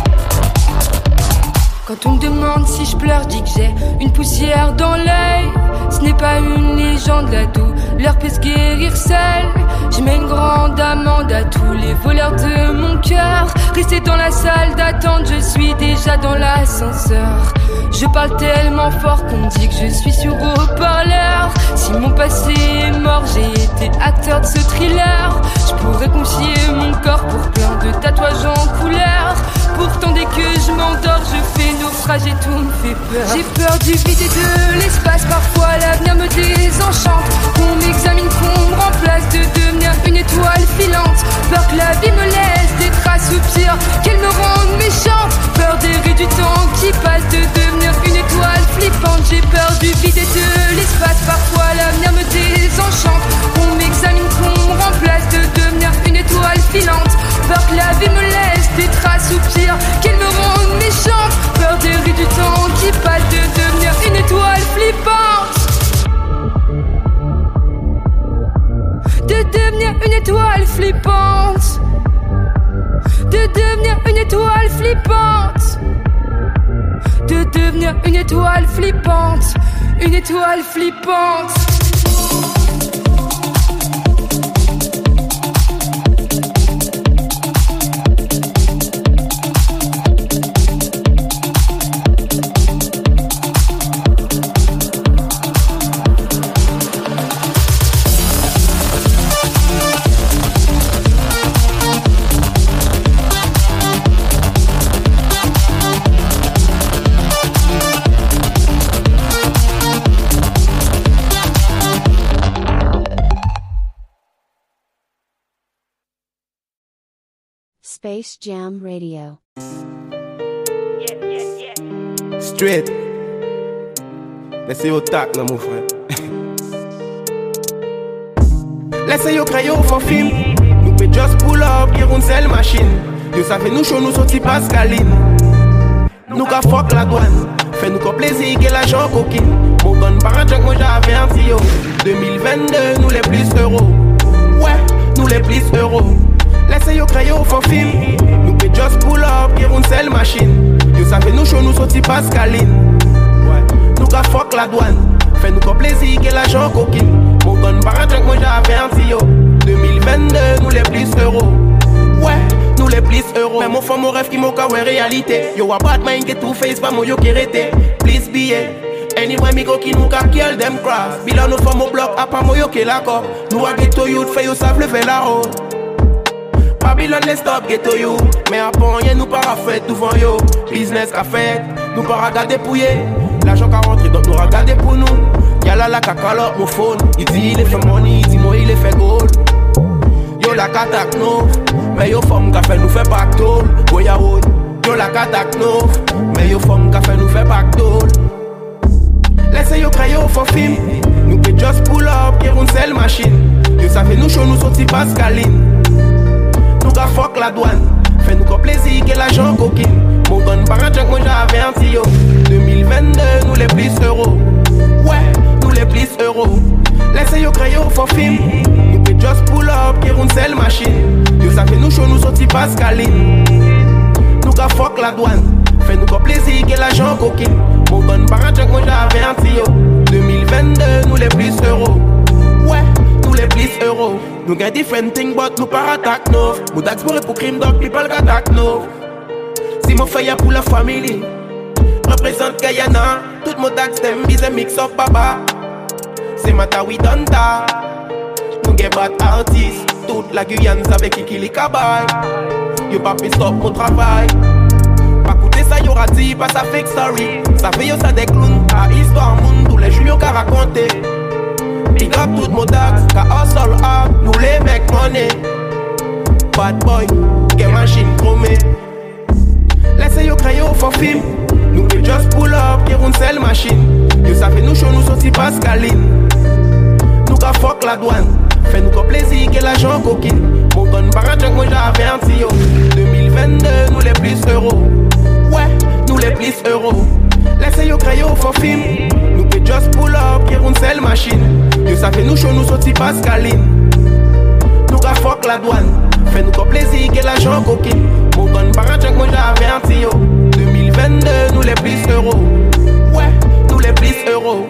[SPEAKER 19] Quand on me demande si je pleure, je dis que j'ai une poussière dans l'œil. Ce n'est pas une légende, la douleur peut se guérir seule. Je mets une grande amende à tous les voleurs de mon cœur. Restez dans la salle d'attente, je suis déjà dans l'ascenseur. Je parle tellement fort qu'on dit que je suis sur haut-parleur. Si mon passé est mort, j'ai été acteur de ce thriller. Je pourrais confier mon corps pour plein de tatouages en couleur. Pourtant dès que je m'endors, je fais naufrage et tout me fait peur. J'ai peur du vide et de l'espace, parfois l'avenir me désenchante. Qu'on m'examine, qu'on me remplace, de devenir une étoile filante. Peur que la vie me laisse des traces ou pire, qu'elle me rende méchante. Peur des rues du temps qui passe, de devenir une étoile flippante. J'ai peur du vide et de l'espace, parfois l'avenir me désenchante. Qu'on m'examine, qu'on me remplace, de devenir une étoile filante. Peur que la vie me laisse des traces ou pire, qu'elle me rende méchante. Peur des rues du temps qui passe, de devenir une étoile flippante. De devenir une étoile flippante. De devenir une étoile flippante. De devenir une étoile flippante. Une étoile flippante.
[SPEAKER 1] Space Jam Radio.
[SPEAKER 20] Straight. Laissez-vous tac là mon frère. Laissez-vous crayer au fond film. Nous peut just pull up, qui roule seule machine. Yo ça fait nous chaud, nous sorti Pascaline. Nous ka fuck la douane. Fais-nous qu'on plaisir, que l'argent coquine. Mon gun par un junk, moi j'avais un tio. deux mille vingt-deux, nous les plus euros. Ouais, nous les plus euros. Laissez-vous crayer au fond film. Nous peut just pull up, qui roule seule machine. Yo ça fait nous chaud, nous sorti Pascaline. Ouais, nous ka fuck la douane. Fais-nous qu'on plaisir, que l'argent coquine. Mon gun par un junk, moi j'avais un tio. deux mille vingt-deux, nous les plus euros. Ouais, nous les plus euros. Mais mon fond, mon rêve qui m'a ouais réalité. Yo a bad mind get two face, pas mon yo qui rete. Please be it. Anyway, me go qui nous ka kill them cross. Bilan nous font mon bloc, à pas mon yo qui l'accord. Nous a ghetto youth, fait yo savent lever la route. Babylon les stop ghetto you. Mais après rien nous para fait devant yo. Business qu'a fait, nous para garder pour yé. L'argent qu'a rentré donc nous regarder pour nous. Y'a là la cacalote mon phone. Il dit il est fait money, il dit moi il est fait gold. Yo la katak no, mais yo femme qu'a fait nous fait pactole. Goya wood, yo la katak no, mais yo femme qu'a fait nous fait pactole. Laissez yo crayer au fond film. Nous peut just pull up, qui roule seule machine. Yo ça fait nous chaud, nous sorti Pascaline. Nous ka fuck la douane. Fais-nous qu'on plaisir, que l'argent coquine. Mon gun par un junk, moi j'avais un tio. deux mille vingt-deux, nous les plus euros. Ouais, nous les plus euros. Laissez yo crayer au fond film. Nous peut just pull up, qui roule seule machine. Yo ça fait nous chaud, nous sorti Pascaline. Nous ka fuck la douane. Fais-nous qu'on plaisir, que l'argent coquine. Mon gun par un junk, moi j'avais un tio. deux mille vingt-deux, nous les plus euros. Ouais, nous les plus euros. Nous gagne different thing, but nous par attaque no. Nous d'explorer pour crime, donc people attaque no. Si mon frère pour la famille, représente Guyana. Tout mon tax them, bise mix up baba. c'est Matawi Donta. Nous get bad artistes, toute la Guyane savait qui qui les cabaye. Yo pas pu stop mon travail. Pas coûter ça y'aura dit, pas ça fake story. Ça fait yo ça des clowns, à histoire monde, tous les jours qu'a raconté. Big up tout mon dax, qu'a hustle up, nous les mecs money. Bad boy, get machine chromée. Laissez yo crayon for film. Nous will just pull up, qui roule seule machine. Yo ça fait nous chaud, nous sorti Pascaline. Nous qu'a fuck la douane. Fais nous qu'au plaisir, que l'argent coquine. Mon tonne paradjunk, moi j'ai averti yo. deux mille vingt-deux, nous les plus euros. Ouais, nous les plus euros. Laissez yo crayon for film. Nous will just pull up, qui roule seule machine. Yo ça fait nous chaud, nous sorti Pascaline. Nous qu'a fuck la douane. Fais nous qu'au plaisir, que l'argent coquine. Mon tonne paradjunk, moi j'ai averti yo. deux mille vingt-deux, nous les plus euros. Ouais, nous les plus euros.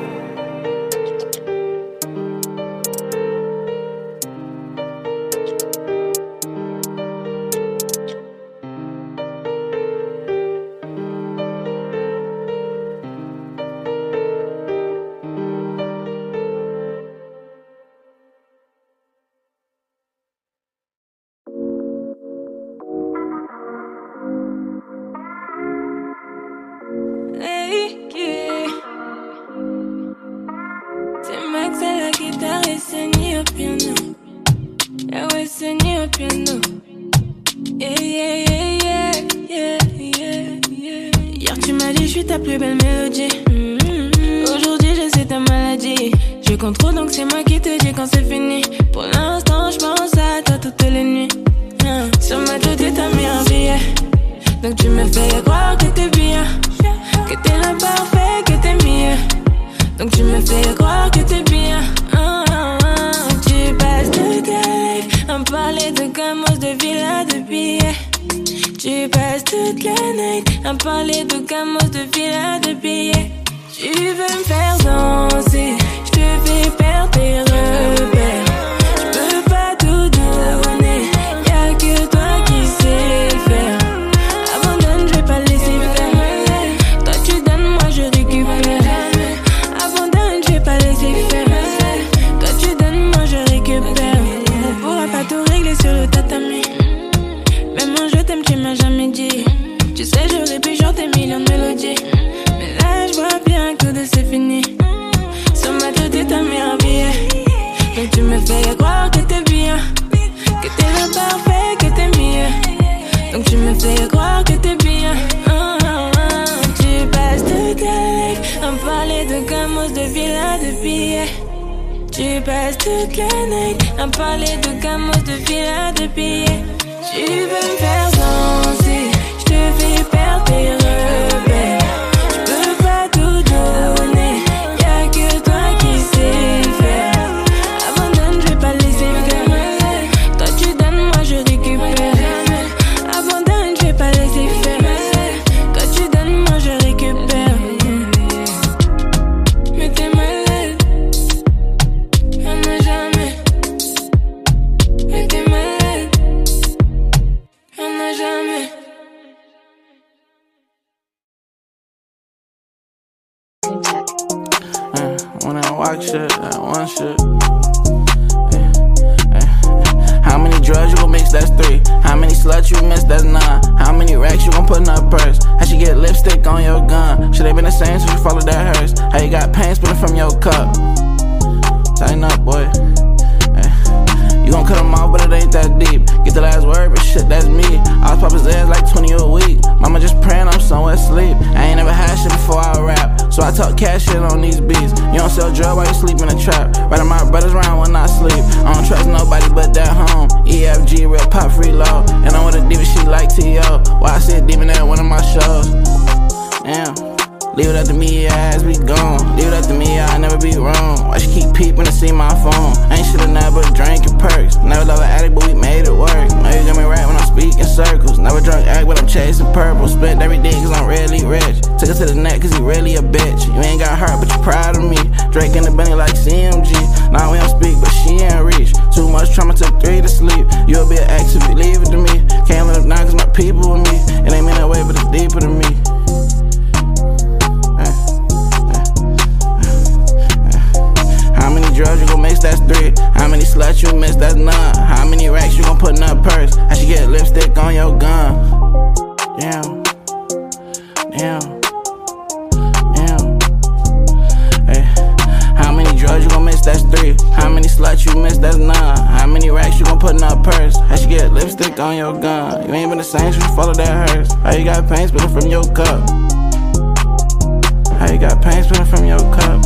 [SPEAKER 21] purse? How she get lipstick on your gun? You ain't been the same since you followed that hearse. How you got pain spilling from your cup? How you got pain spilling from your cup?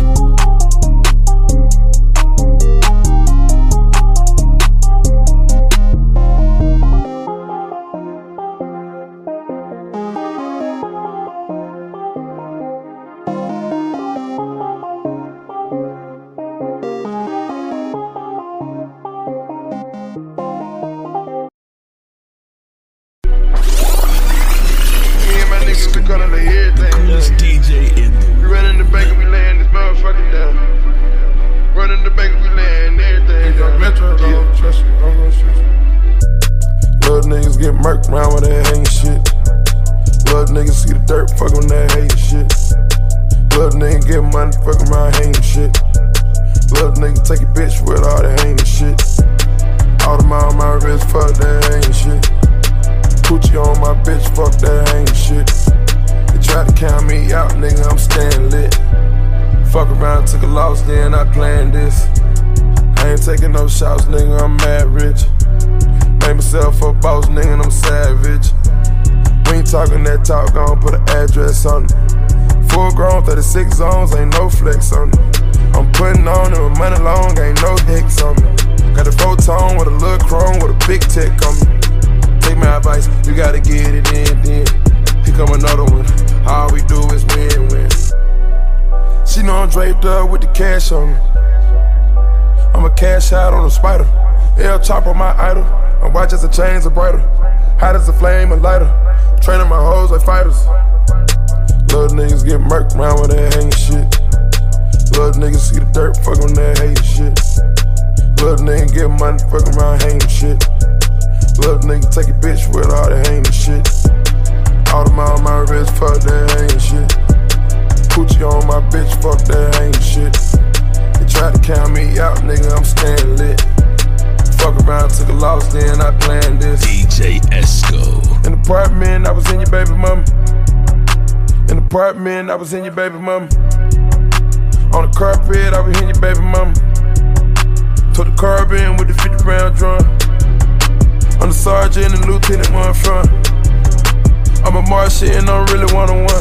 [SPEAKER 22] Shots, nigga, I'm mad rich. Made myself a boss, nigga, and I'm savage. We ain't talking that talk, gon' put an address on it. Full grown, thirty-six zones, ain't no flex on it. I'm putting on it with money long, ain't no hicks on me. Got a photon with a little chrome with a big tech on me. Take my advice, you gotta get it in, then. Here come another one, all we do is win, win. She know I'm draped up with the cash on me. I'm a cash out on a spider. L chop on my idol. My watch as the chains are brighter. Hot as a flame and lighter. Training my hoes like fighters. Little niggas get murked around with that hanging shit. Little niggas see the dirt, fuck on that hating shit. Little nigga get money, fuck around hanging shit. Little nigga take a bitch with all the hanging shit. All the mile on my wrist, fuck that hanging shit. Coochie on my bitch, fuck that hanging shit. They tried to count me out, nigga, I'm staying lit. Fuck around, took a loss, then I planned this.
[SPEAKER 23] D J Esco.
[SPEAKER 22] In the apartment, I was in your baby mama. In the apartment, I was in your baby mama. On the carpet, I was in your baby mama. Took the carbon with the fifty round drum. I'm the sergeant and lieutenant where I'm from. I'm a marshal and I'm really one-on-one.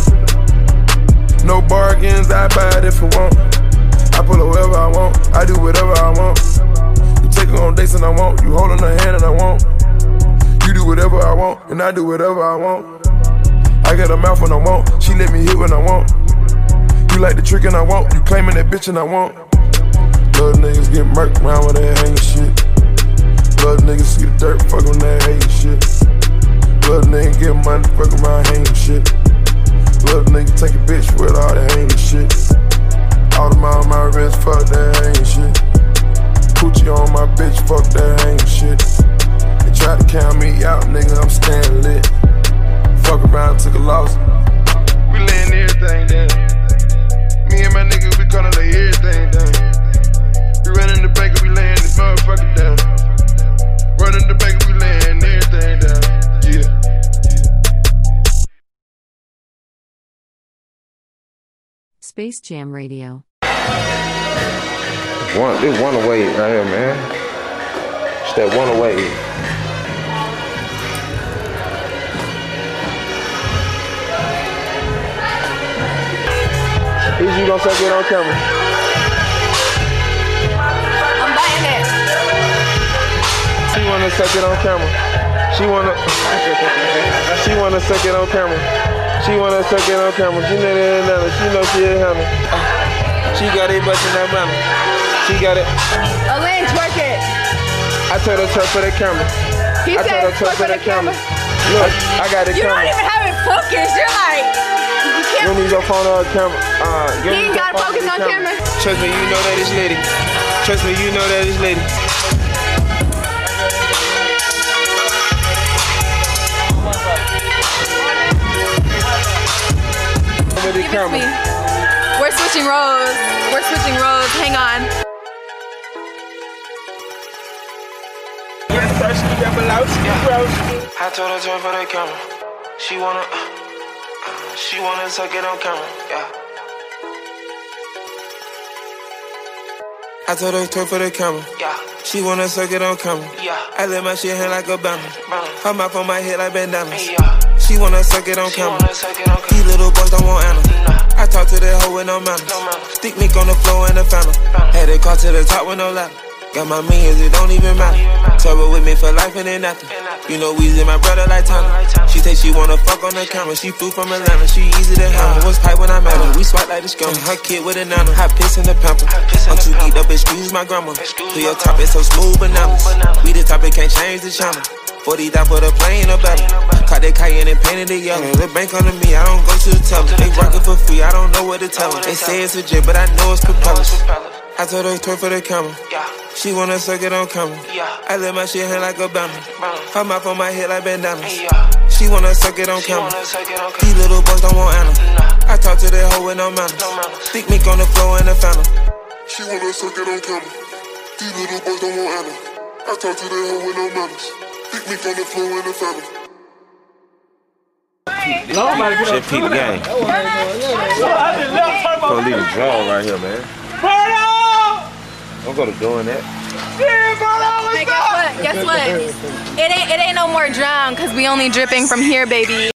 [SPEAKER 22] No bargains, I buy it if I want. I pull it wherever I want, I do whatever I want. You take her on dates and I want, you holding her hand and I want. You do whatever I want, and I do whatever I want. I get a mouth when I want, she let me hit when I want. You like the trick and I want, you claiming that bitch and I want. Little niggas get murked around with that hanging shit. Little niggas see the dirt, fuck on that hating shit. Little nigga get money, fuck around hanging shit. Little nigga take a bitch with all the hanging shit. All the mile on my wrist, fuck that hanging shit. Coochie on my bitch, fuck that hanging shit. They tried to count me out, nigga, I'm staying lit. Fuck around, took a loss. We laying everything down. Me and my niggas, we gonna lay everything down. We running the bank, we laying this motherfucker down. Running the bank, we laying everything down. Yeah.
[SPEAKER 1] Space Jam Radio.
[SPEAKER 22] One, this one away right here, man. It's that one away. Is you gonna suck it on camera?
[SPEAKER 24] I'm biting it.
[SPEAKER 22] She wanna suck it on camera. She wanna. She wanna suck it on camera. She wanna suck it on camera. She know that another. She know she ain't having. She got it bustin' that mama. She got it.
[SPEAKER 24] Elaine, twerk it.
[SPEAKER 22] I told her twerk for the camera.
[SPEAKER 24] He
[SPEAKER 22] I
[SPEAKER 24] said
[SPEAKER 22] told her twerk for the camera. Look, I got it.
[SPEAKER 24] You
[SPEAKER 22] camera.
[SPEAKER 24] don't even have it focused. You're like, you
[SPEAKER 22] You
[SPEAKER 24] can't.
[SPEAKER 22] don't need your phone on camera. Uh, you
[SPEAKER 24] He ain't got to focus on camera.
[SPEAKER 22] Trust me, you know that it's lady. Trust me, you know that it's lady.
[SPEAKER 24] Give it to me. We're switching roles. We're switching roles. Hang on.
[SPEAKER 22] I told her turn for the camera. She wanna, uh, she wanna suck it on camera. Yeah.
[SPEAKER 2] I told her twerk for the camera. Yeah. She wanna suck it on camera. Yeah. I let my shit hang like a banner. Her mouth on my head like bandanas. Yeah. She wanna suck it on camera. These little boys don't want Anna. Nah. I talk to that hoe with no manners. No manners. Stick me on the floor in the fountain. Had it caught to the top with no ladder. Got my millions, it don't even matter. Trouble with me for life and then nothing. You know Weezy, my brother like Tana. She say she wanna fuck on the camera. She flew from Atlanta, she easy to handle. Was pipe when I met her, we swipe like the scum. Her kid with a nana, hot piss in the pamper. I'm too geeked up, excuse my grandma. To your top, it's so smooth bananas. We the topic, can't change the channel. forty down for the plane or better. Caught that Cayenne and painted it yellow. The bank under me, I don't go to the teller. They working for free, I don't know what to tell them. They say it's a jet, but I know it's propellers. I told her twerk for the camera. She wanna suck it on camera. I let my shit hang like a banner. Her mouth on my head like bandanas. She wanna suck it on camera. These little boys don't want Anna. I talk to that hoe with no manners. Stick me on the floor in the fountain.
[SPEAKER 13] She wanna suck it on camera. These little boys don't want Anna. I talk to that hoe with no manners. Stick me on the floor in the fountain.
[SPEAKER 22] Shit, peep the game. Go leave a draw right here, man. I'm gonna doing that.
[SPEAKER 24] Hey, guess what? Guess what? It ain't it ain't no more drown, cause we only dripping from here, baby.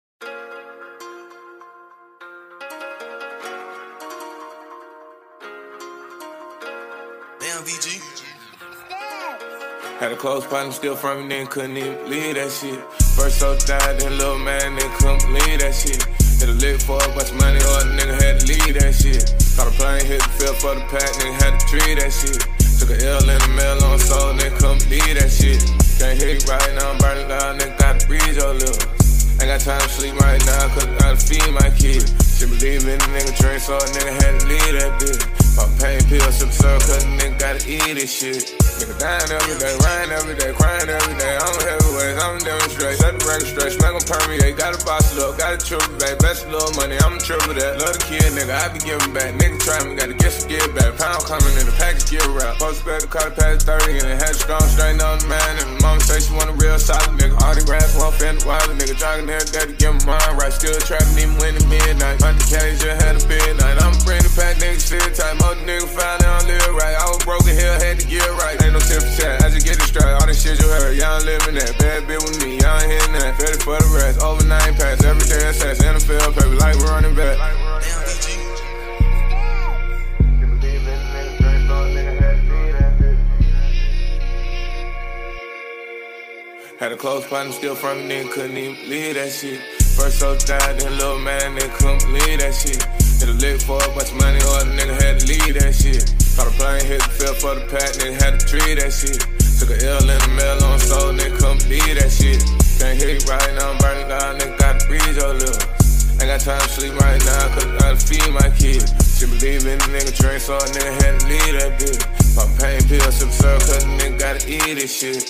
[SPEAKER 22] Damn, V G. Had a close partner, still from me, nigga couldn't even believe that shit. First so died, then little man, nigga couldn't believe that shit. Hit a lick for a bunch of money, or the nigga had to leave that shit. Caught a plane, hit the field for the pack, nigga had to treat that shit. Took a L in the mail on soul, nigga couldn't believe that shit. Can't hit right now, I'm burning loud, nigga gotta breathe your lips. Ain't got time to sleep right now, cause I gotta feed my kid. She believe in the nigga train, so a nigga had to leave that bitch. Pop pain pills, sip syrup, cause the nigga gotta eat this shit. Nigga dying every day, crying every day, crying every day. I'm heavyweight, I'm demonstrate, set the record straight, smack em permeate. Gotta boss it up, gotta triple back, best little money, I'ma triple that. Love the kid, nigga, I be giving back. Nigga try me, gotta get some get back. Pound coming in the package, get wrapped. Post back the car past thirty, and it had strong straight on the man. And mama say she want a real solid nigga. All the grass, one fan, wild nigga, jogging there, daddy, give him mine right. Still trapping, even when the midnight. My cage just had a midnight. I'm bringing the pack, nigga, sit tight. Most nigga found out live right. I was broken here, had to get right. Ain't no tip for chat, I just get it straight. All this shit you heard, y'all living that. Bad bitch with me, y'all hitting that. Ready for the rest, over nine pass. Every day assess, N F L, baby, like we're running back. Had a close partner, still from me, nigga couldn't even believe that shit. First so died, then little man, nigga couldn't believe that shit. Hit a lick for a bunch of money, or the nigga had to leave that shit. Caught a plane, hit the field for the pack, nigga had to treat that shit. Took a L in the mail on soul, nigga couldn't believe that shit. Can't hit right now, I'm burning loud, nigga gotta breathe your lips. Ain't got time to sleep right now, cause I gotta feed my kid. She believe in the nigga train, so a nigga had to leave that bitch. Pop pain pills, sip syrup, cause the nigga gotta eat this shit.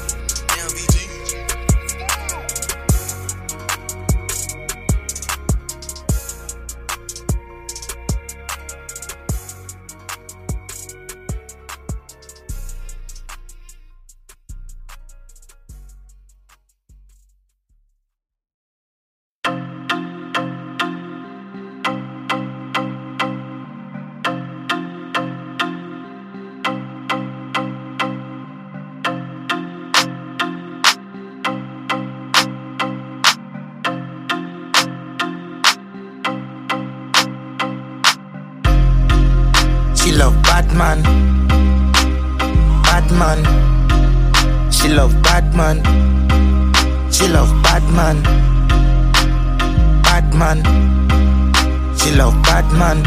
[SPEAKER 5] She love bad man, bad man. She love bad man. She love bad man, bad man. She love bad man,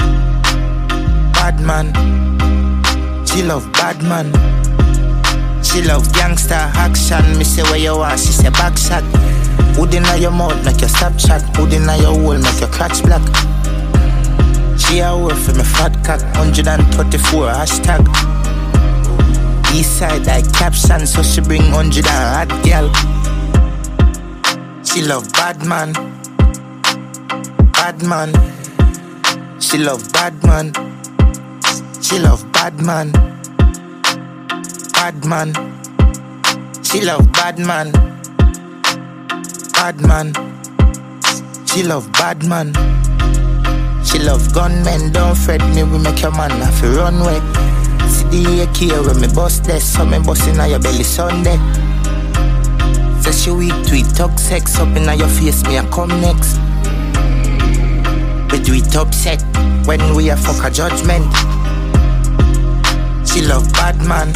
[SPEAKER 5] bad man. She love bad man. She love gangster action. Me say where you are, she say back shot. Hood inna your mouth make you stop chat. Hood inna your hole make your crotch black. She a work for me fat cock, one hundred thirty-four hashtag. East side like caption, so she bring one hundred and hot girl. She love bad man, bad man. She love bad man. She love bad man, bad man. She love bad man, bad man. She love bad man. She love gunmen, don't fret me, we make your man have to run away. See the A K when me bust this, so me bust inna your belly Sunday. Say she weak tweet, talk sex up inna your face, me a come next. We do it upset when we a fuck a judgment. She love bad man,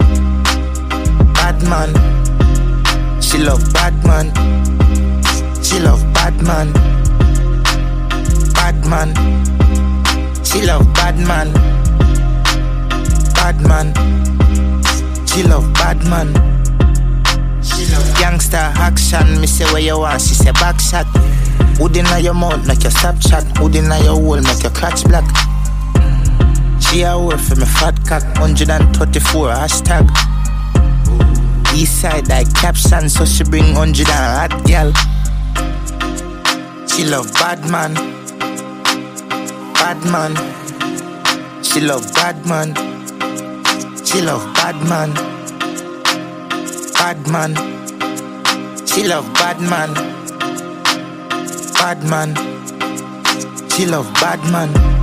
[SPEAKER 5] bad man. She love bad man, she love bad man, bad man. She love bad man, bad man. She love bad man. She love gangster action. Me say where you want, she say back shot. Hood inna your mouth make your stop chat. Hood inna your hole make your crotch black. She a word for me fat cock. one thirty-four hashtag. East side like caption, so she bring one hundred and hot gal. She love bad man, bad man. She love bad man. She love bad man, bad man. She love bad man, bad man. She love bad man.